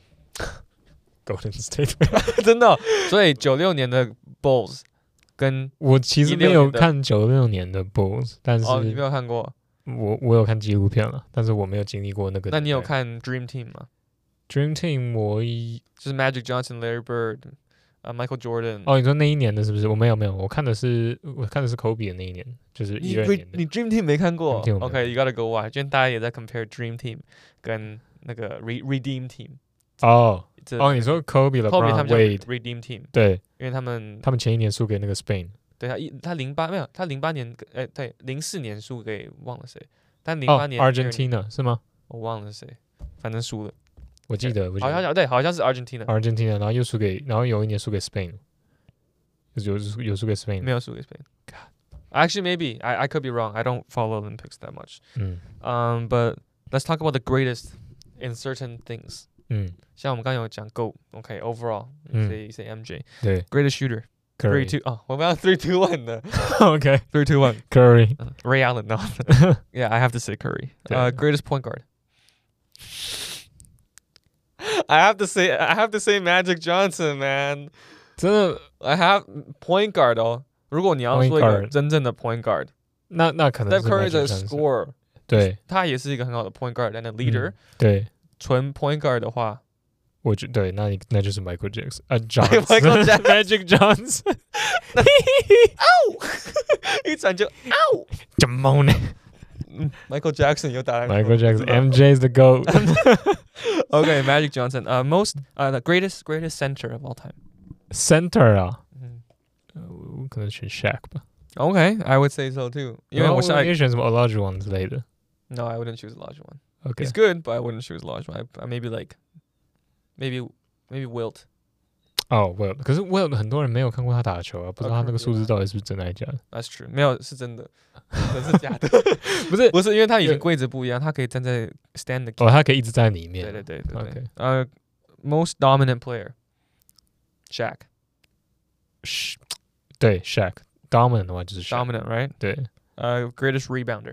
Golden State 真的，所以96年的 Bulls 跟我其實沒有看96年的 Bulls， 但是你沒有看過？ 我有看紀錄片了，但是我沒有經歷過那個。 那你有看 Dream Team 嗎 ？Dream Team 就是 Magic Johnson、Larry Bird。Michael Jordan。 哦，你說那一年的是不是？我沒有，我看的是 Kobe 的那一年，就是12年的。 你 Dream Team 沒看過 ？OK，you gotta go watch。今天大家也在 compare Dream Team 跟那個 Redeem Team。 哦，你說 Kobe、LeBron、Wade Redeem Team。 對， 因為他們前一年輸給那個 Spain。 對，他08沒有，他08年對04年輸給忘了誰，但08年 Argentina 是嗎？ 我忘了誰，反正輸了。 我記得好像是 Argentina， 然後又輸給，然後有一年輸給 Spain， 有輸給 Spain， 沒有輸給 Spain。Actually, maybe I could be wrong. I don't follow Olympics that much. But let's talk about the greatest in certain things. 像我們剛剛有講 GOAT，OK, overall, say MJ. 對 ，greatest shooter. 3, 2， 我們要3, 2, 1的。 OK, 3, 2, 1. Curry, Ray Allen. No. Yeah, I have to say Curry. Greatest point guard. I have to say Magic Johnson, man. 真的 I have point guard 哦。如果你要說一個真正的 point guard， 那可能是 Steph Curry 的 score， 對， 他也是一個很好的 point guard and a leader。 對， 純 point guard 的話， 我覺得對，那就是 Michael Jackson， Michael Jackson Magic Johnson。 一轉就 ow， 怎麼呢？ Michael Jackson 有打籃球 Michael Jackson MJ is the GOAT Okay, Magic Johnson. The greatest center of all time. Center 啊，我可能選 Shaq 吧。 Okay, I would say so too. 因為我想選什麼 Olajuwon 之類的。 No, I wouldn't choose Olajuwon. Okay. He's good, but I wouldn't choose Olajuwon. Maybe Wilt. 哦 ，Will， 可是 Will 很多人没有看過他打球啊，不知道他那個數字到底是不是真的還是假的。 That's true， 沒有是真的，真是假的？不是，因為他以前規則不一樣，他可以站在 stand the。 他可以一直在裡面。 對。Most dominant player，Shaq。 對 ，Shaq。dominant 的話就是 Shaq。dominant，right？ 對。 greatest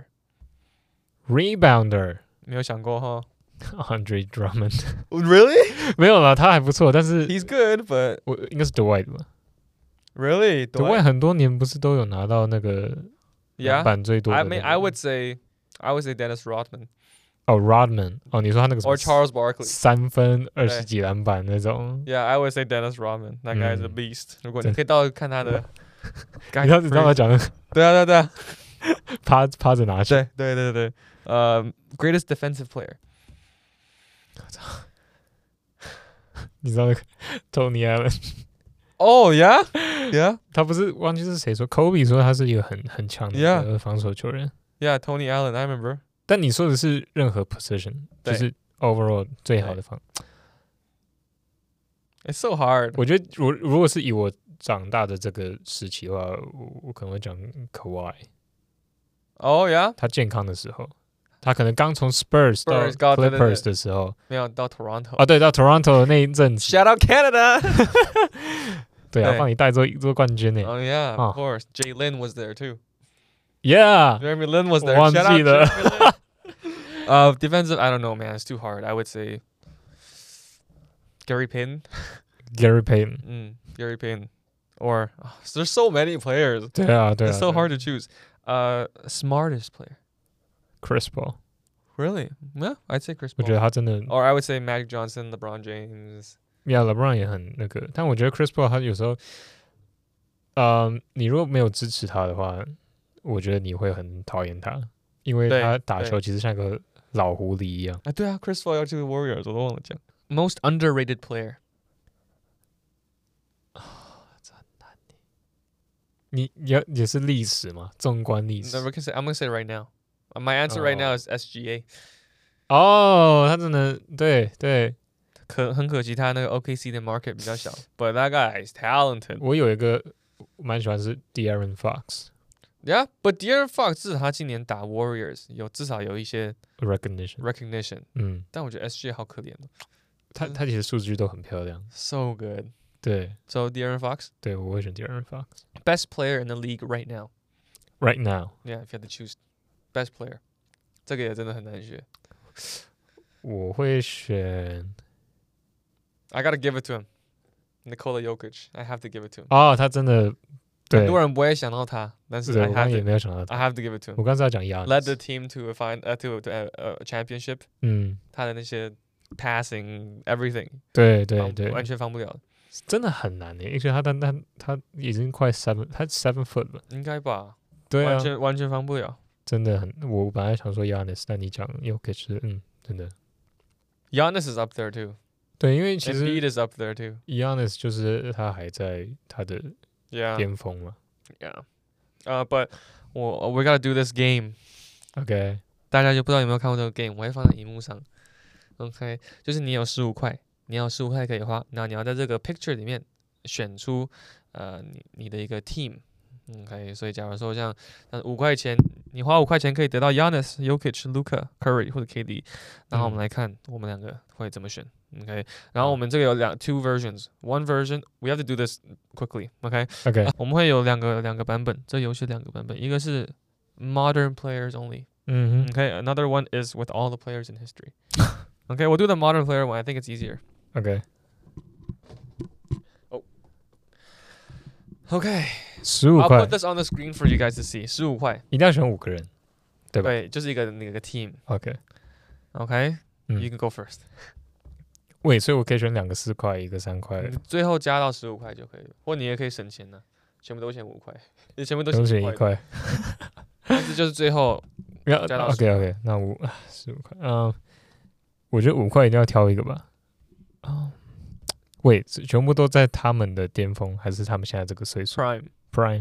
rebounder。 沒有想過哈。 Andre Drummond。Really？ 沒有啦，他還不錯，但是 He's good，but 我應該是 Dwight 吧 ？Really？Dwight 很多年不是都有拿到那個籃板最多的、那個 I would say Dennis Rodman。 Rodman。你說他那個 Or Charles Barkley 3分20幾籃板那種。 Yeah，I would say Dennis Rodman。That guy is a beast。如果你可以到看他的， 你知道他講的？ 對啊。 趴着拿球。 對。Greatest defensive player。 你知道那個 Tony Allen？Oh yeah， 他不是忘記是誰說 ，Kobe 說他是一個很強的防守球員。 Yeah，Tony Allen，I remember。 但你說的是任何 position， 就是 overall 最好的防。 It's so hard。 我覺得如果是以我長大的這個時期的話，我可能會講 Kawhi。Oh yeah。 他健康的時候。他可能剛從 Spurs 到 Clippers 的時候， 沒有到 Toronto 對，到 Toronto 的那一陣子 ，Shout out Canada 對啊，幫你帶做冠軍呢。 Oh yeah, of course. Jay Lin was there too. Yeah, Jeremy Lin was there. 我忘記了。 Defensive, I don't know, man. It's too hard. I would say Gary Payton. Gary Payton. Gary Payton. Or there's so many players. 對啊。 It's so hard to choose. Smartest player. Chris Paul. Really? Yeah, I'd say Chris Paul. 我覺得他真的 Or I would say Magic Johnson, LeBron James. Yeah, LeBron 也很那個，但我覺得 Chris Paul 他有時候，你如果沒有支持他的話，我覺得你會很討厭他，因為他打球其實像個老狐狸一樣。 對啊 ，Chris Paul 要去 Warriors， 我都忘了講。Most underrated player. 這很難。你也是歷史嗎？縱觀歷史。 I'm gonna say right now. My answer right now is SGA。 他真的對。 很可惜，他那個 OKC 的 market 比較小。But that guy is talented。 我有一個蠻喜歡是 De'Aaron Fox。Yeah, but De'Aaron Fox 至少他今年打 Warriors 至少有一些 recognition。但我覺得 SGA 好可憐哦。 他其實數據都很漂亮。 So good。 對。 So De'Aaron Fox。 對，我會選 De'Aaron Fox。 Best player in the league right now。 Right now。 Yeah, if you had to choose best player， 這個也真的很難選。 我會選。 I gotta give it to him. Nikola Jokic. I have to give it to him. 他真的對。 很多人不會想到他，但是我剛也沒有想到他。 I have to give it to him. 我剛才要講 Giannis。 Led the team to a championship。他的那些 passing everything。對。完全放不了。 真的很難耶，而且他已經快他 7 foot 了。 應該吧。 對啊。 完全放不了。 真的很，我本來想說 Giannis， 但你講 Jokic， 真的。 Giannis is up there too。 對，因為其實 Embiid is up there too。 Giannis 就是他還在他的巔峰嘛。 Yeah。But we gotta do this game。 OK。 大家就不知道有沒有看過這個 game， 我會放在熒幕上。OK， 就是你有15塊，你要15塊可以花，然後你要在這個 picture 裡面選出你的一個 team。OK， 所以假如說像5塊錢，你花5塊錢可以得到 Giannis、Jokic、Luka、Curry 或者 KD， 然後我們來看我們兩個會怎麼選。OK， 然後我們這個有two versions。One version we have to do this quickly。OK， 我們會有兩個版本，這遊戲2個版本，一個是 modern players only。OK，another one is with all the players in history。OK， we'll do the modern player one. I think it's easier. OK。15塊。I'll put this on the screen for you guys to see. 15塊。 一定要選5個人，對吧？ 對，就是一個team。 OK。 You can go first。 所以我可以選2個4塊，一個3塊。 最後加到15塊就可以了，或你也可以省錢呢，全部都選5塊，你全部都選 1塊。 但是就是最後加到 OK， 那15塊。我覺得5塊一定要挑一個吧。全部都在他們的巔峰，還是他們現在這個歲數 ？Prime。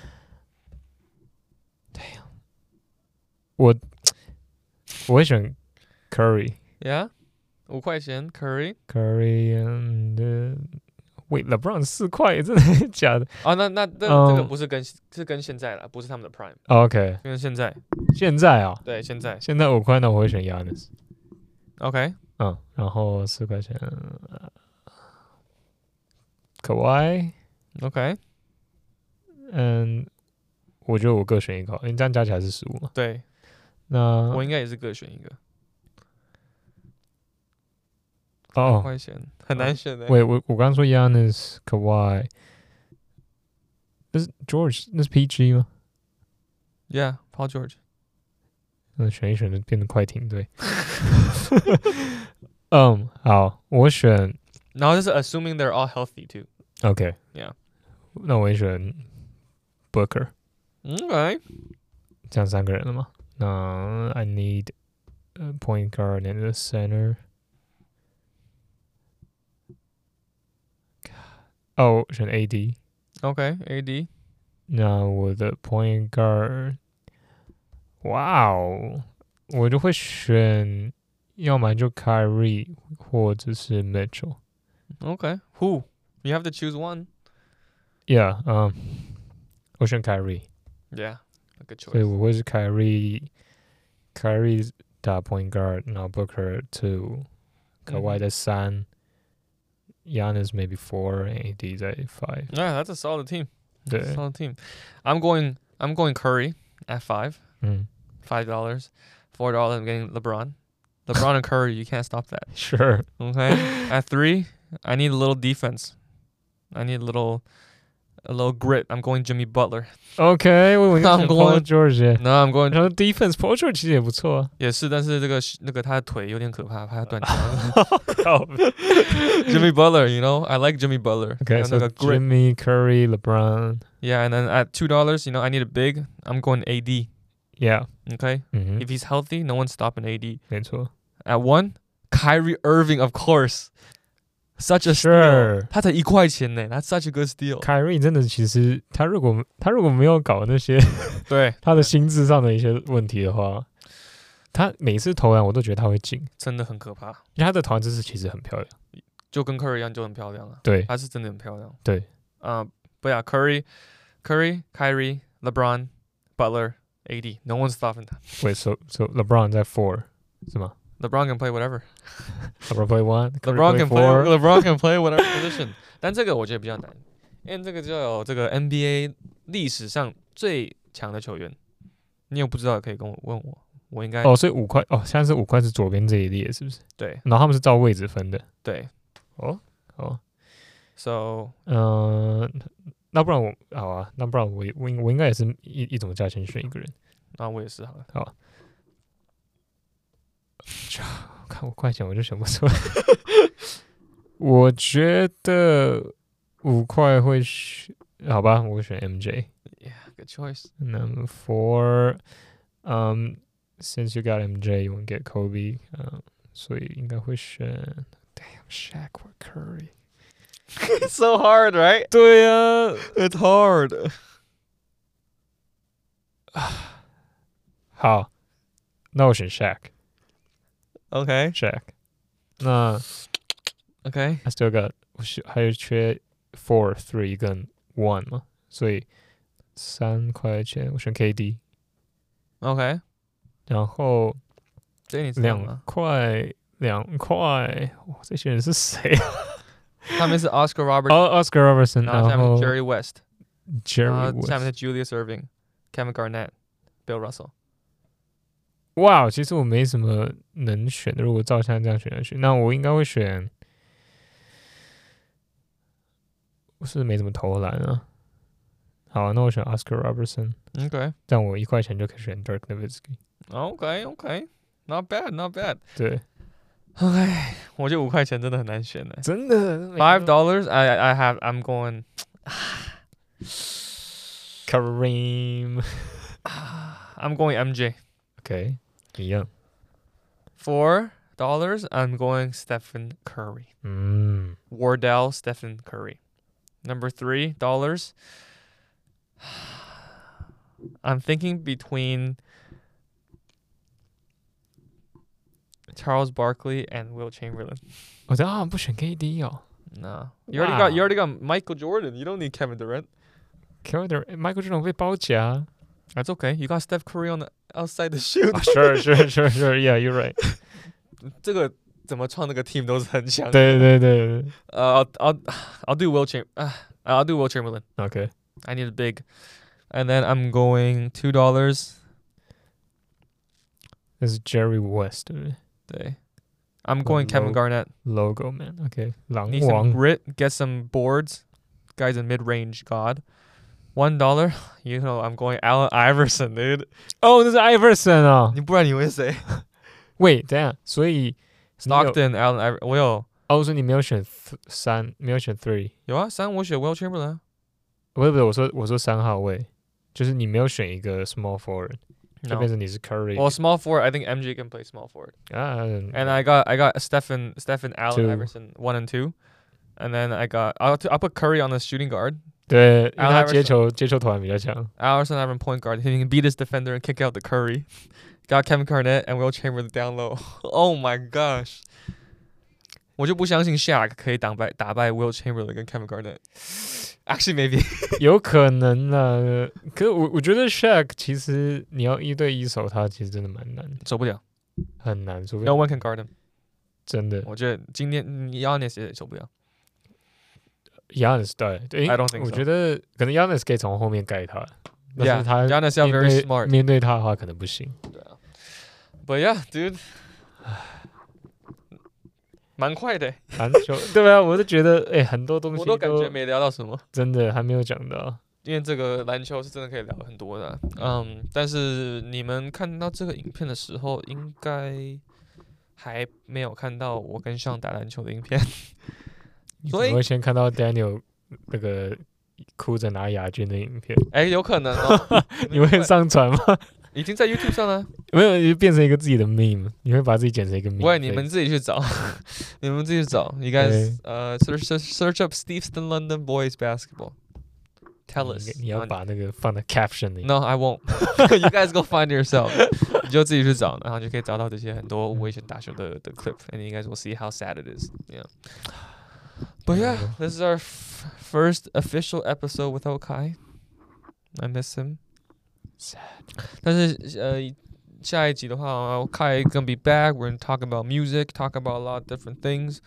對呀，我會選 Curry。 Yeah，5塊錢 Curry。 Wait LeBron 4塊，真的假的？ 那这個不是跟現在啦，不是他們的 Prime。OK， 跟現在啊， 對，現在 5塊，那我會選 Giannis。OK， 然後4塊錢Kawhi。OK， 我覺得我各選一個，因為這樣加起來是15嘛。 對， 那我應該也是各選一個。 哦， 很難選的。 喂，我剛剛說 Giannis Kawhi， 那是 George， 那是 PG 嗎 ？Yeah，Paul George。 那選一選就變得快艇隊。好，我選。 然後就是 assuming they're all healthy too。OK。Yeah。 那我也選 Booker。OK。這樣3個人了嗎？那 I need a point guard and a center。我選 AD。OK，AD。那我的 point guard， 哇哦，我就會選，要麼就 Kyrie 或者是 Mitchell。OK，Who？ You have to choose one. Yeah，我選 Kyrie。Yeah，a good choice。所以我會是 Kyrie 打 point guard， 然後 Booker 2，Kawhi 在3。Giannis maybe 4 and AD 在5. Yeah, that's a solid team. 對 solid team. I'm going Curry at 5. $5. $4 I'm getting LeBron. LeBron and Curry, you can't stop that. Sure. Okay. At 3, I need a little defense. I need a little grit. I'm going Jimmy Butler. Okay, I'm going George. No, I'm going defense. Paul George 其實也不錯啊。 也是，但是那個他的腿有點可怕，怕他斷腳。Jimmy Butler, you know, I like Jimmy Butler. Okay, so Jimmy, Curry, LeBron. Yeah, and then at $2, you know, I need a big. I'm going AD. Yeah. Okay. If he's healthy, no one's stopping AD. 沒錯。 At 1, Kyrie Irving, of course. Such a steal， 他才1塊錢呢 ，That's such a good steal。 Kyrie 真的，其實他如果沒有搞那些對他的心智上的一些問題的話，他每次投籃我都覺得他會進， 真的很可怕。 因為他的投籃姿勢其實很漂亮， 就跟 Curry 一樣，就很漂亮啊。 對， 他是真的很漂亮。 對 ，But yeah, Kyrie, LeBron, Butler, AD, no one's stopping that. Wait, so LeBron 在 4 是嗎 ？LeBron can play whatever. LeBron play 1. LeBron can play whatever position. 但這個我覺得比較難，因為這個就有這個 NBA 歷史上最強的球員。你有不知道可以跟我問我，我應該所以5塊現在是5塊是左邊這一列是不是？ 對。 然後他們是照位置分的。 對。So 那不然我好啊，那不然我應該也是一種價錢選一個人。 那我也是好了。 好。看5塊錢我就選不出來。我覺得5塊會選，好吧，我會選 MJ。Yeah, good choice. Number 4, since you got MJ, you won't get Kobe. 所以應該會選 Damn, Shaq or Curry. It's so hard, right? 對啊 ，It's hard. 好，那我選 Shaq。Okay, Shaq. 那 Okay, I still got 還有缺 4, 3跟1嘛，所以3塊錢我選 KD。Okay, 然後2塊，哇，這些人是誰啊？ 他們是 Oscar Robertson。 Oscar Robertson， 然後下面是 Jerry West， Jerry West， 下面是 Julius Erving、Kevin Garnett、Bill Russell。 哇，其實我沒什麼能選的，如果照現在這樣選下去，那我應該會選，我是沒怎麼投籃啊。好，那我選 Oscar Robertson。OK， 這樣我1塊錢就可以選 Dirk Nowitzki。OK，Not bad。對。 OK， 我覺得5塊錢真的很難選呢。 真的。 $5 I'm going Kareem。 I'm going MJ。OK， 一樣。 $4 I'm going Stephen Curry。Wardell Stephen Curry。Number $3 I'm thinking between Charles Barkley and Will Chamberlain。 我好像不選 KD 哦。 No, you already got Michael Jordan. You don't need Kevin Durant. Michael Jordan 被包夾。 That's okay. You got Steph Curry on the outside the shoot. Sure. Yeah, you're right. 这个怎麼創那個 team 都是很強。 對。 I'll do Will Chamberlain. Okay. I need a big. And then I'm going $2. This is Jerry West, 對不對？ 對。I'm going Kevin Garnett. Logo man. Okay. Need some grit. Get some boards. Guy's a mid-range god. $1. You know I'm going Allen Iverson, dude. 哦，那是 Iverson 啊。 你不然你會誰 ？Wait， 等一下，所以 Stockton Allen Iverson 我有。 哦，所以你沒有選3，沒有選3。 有啊，3我選 Will Chamberlain。 不是，我說3號位，就是你沒有選一個 small forward。就變成你是 Curry. Well, small forward, I think MJ can play small forward. And I got Stephen Allen Iverson 1 and 2, and then I'll put Curry on the shooting guard. 對，因為他接球團比較強。 Iverson Iverson point guard, he can beat his defender and kick out the Curry. Got Kevin Garnett and Will Chamberlain down low. Oh my gosh! 我就不相信 Shaq 可以打敗 Will Chamberlain 跟 Kevin Garnett。Actually, maybe 有可能啦。可是我覺得 Shaq 其實你要1對1守他，其實真的蠻難， 守不了， 很難。 No one can guard him。 真的， 我覺得今天 Giannis 也守不了。 Giannis 對 ，I don't think so。 我覺得可能 Giannis 可以從後面蓋他，但是他 Giannis 要 very smart， 面對他的話可能不行。 對啊 ，But yeah, dude。蠻快的籃球，對啊，我就覺得很多東西我都感覺沒聊到什麼， 真的還沒有講到。 因為這個籃球是真的可以聊很多的，但是你們看到這個影片的時候，應該還沒有看到我跟Sean打籃球的影片，所以我會先看到 Daniel 那個哭着拿亞軍的影片。 有可能哦， 你會上傳嗎？ 已經在 YouTube 上了， 沒有，就變成一個自己的 meme， 你會把自己剪成一個 meme。 喂，你們自己去找，你們自己去找。You guys, search up Steveston London Boys Basketball. Tell us. 你要把那個放在 caption 裡。 No, I won't. You guys go find yourself. 你就自己去找，然後就可以找到這些很多危險打球的 clip, and you guys will see how sad it is. Yeah. But yeah, this is our first official episode without Kai. I miss him. Sad. 但是下一集的話 Kai gonna be back. We're gonna talk about music, talk about a lot of different things.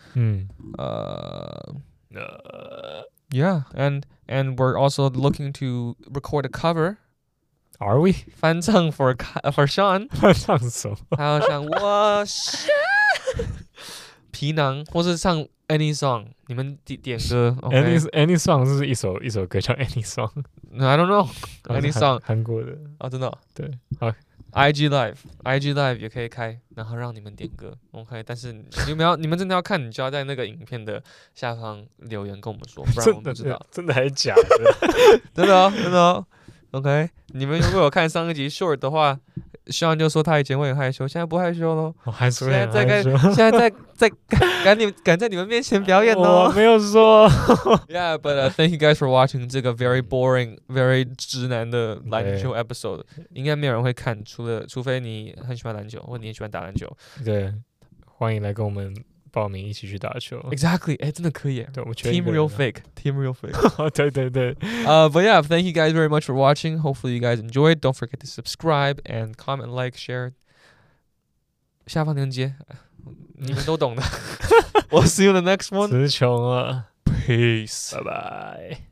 Yeah, and we're also looking to record a cover. Are we? 翻唱 for Sean. 翻唱什麼？還有像我是皮囊，或是唱 any song， 你們點歌。 Okay? Any song 是一首歌叫 Any Song。I don't know any song。 韓國的真的哦。 對，好。 IG Live 也可以開，然後讓你們點歌 ，OK。但是你們真的要看，你就要在那個影片的下方留言跟我們說，不然我們不知道。 真的還是假的？ 真的哦 ，OK。你們如果有看上一集 short 的話，Sean就說他以前會很害羞，現在不害羞咯。 我還說現在在敢在你們面前表演哦。 我沒有說。 Yeah, but thank you guys for watching 這個 very boring, very 直男的籃球 episode。應該沒有人會看，除非你很喜歡籃球，或者你很喜歡打籃球。 對，歡迎來跟我們報名一起去打球。 Exactly， 真的可以。 對，我 Team Real Fake。 對。 But yeah, thank you guys very much for watching. Hopefully you guys enjoyed. Don't forget to subscribe and comment, like, share. 下方鏈接，你們都懂的。We'll see you in the next one. 詞窮了。 Peace. Bye bye.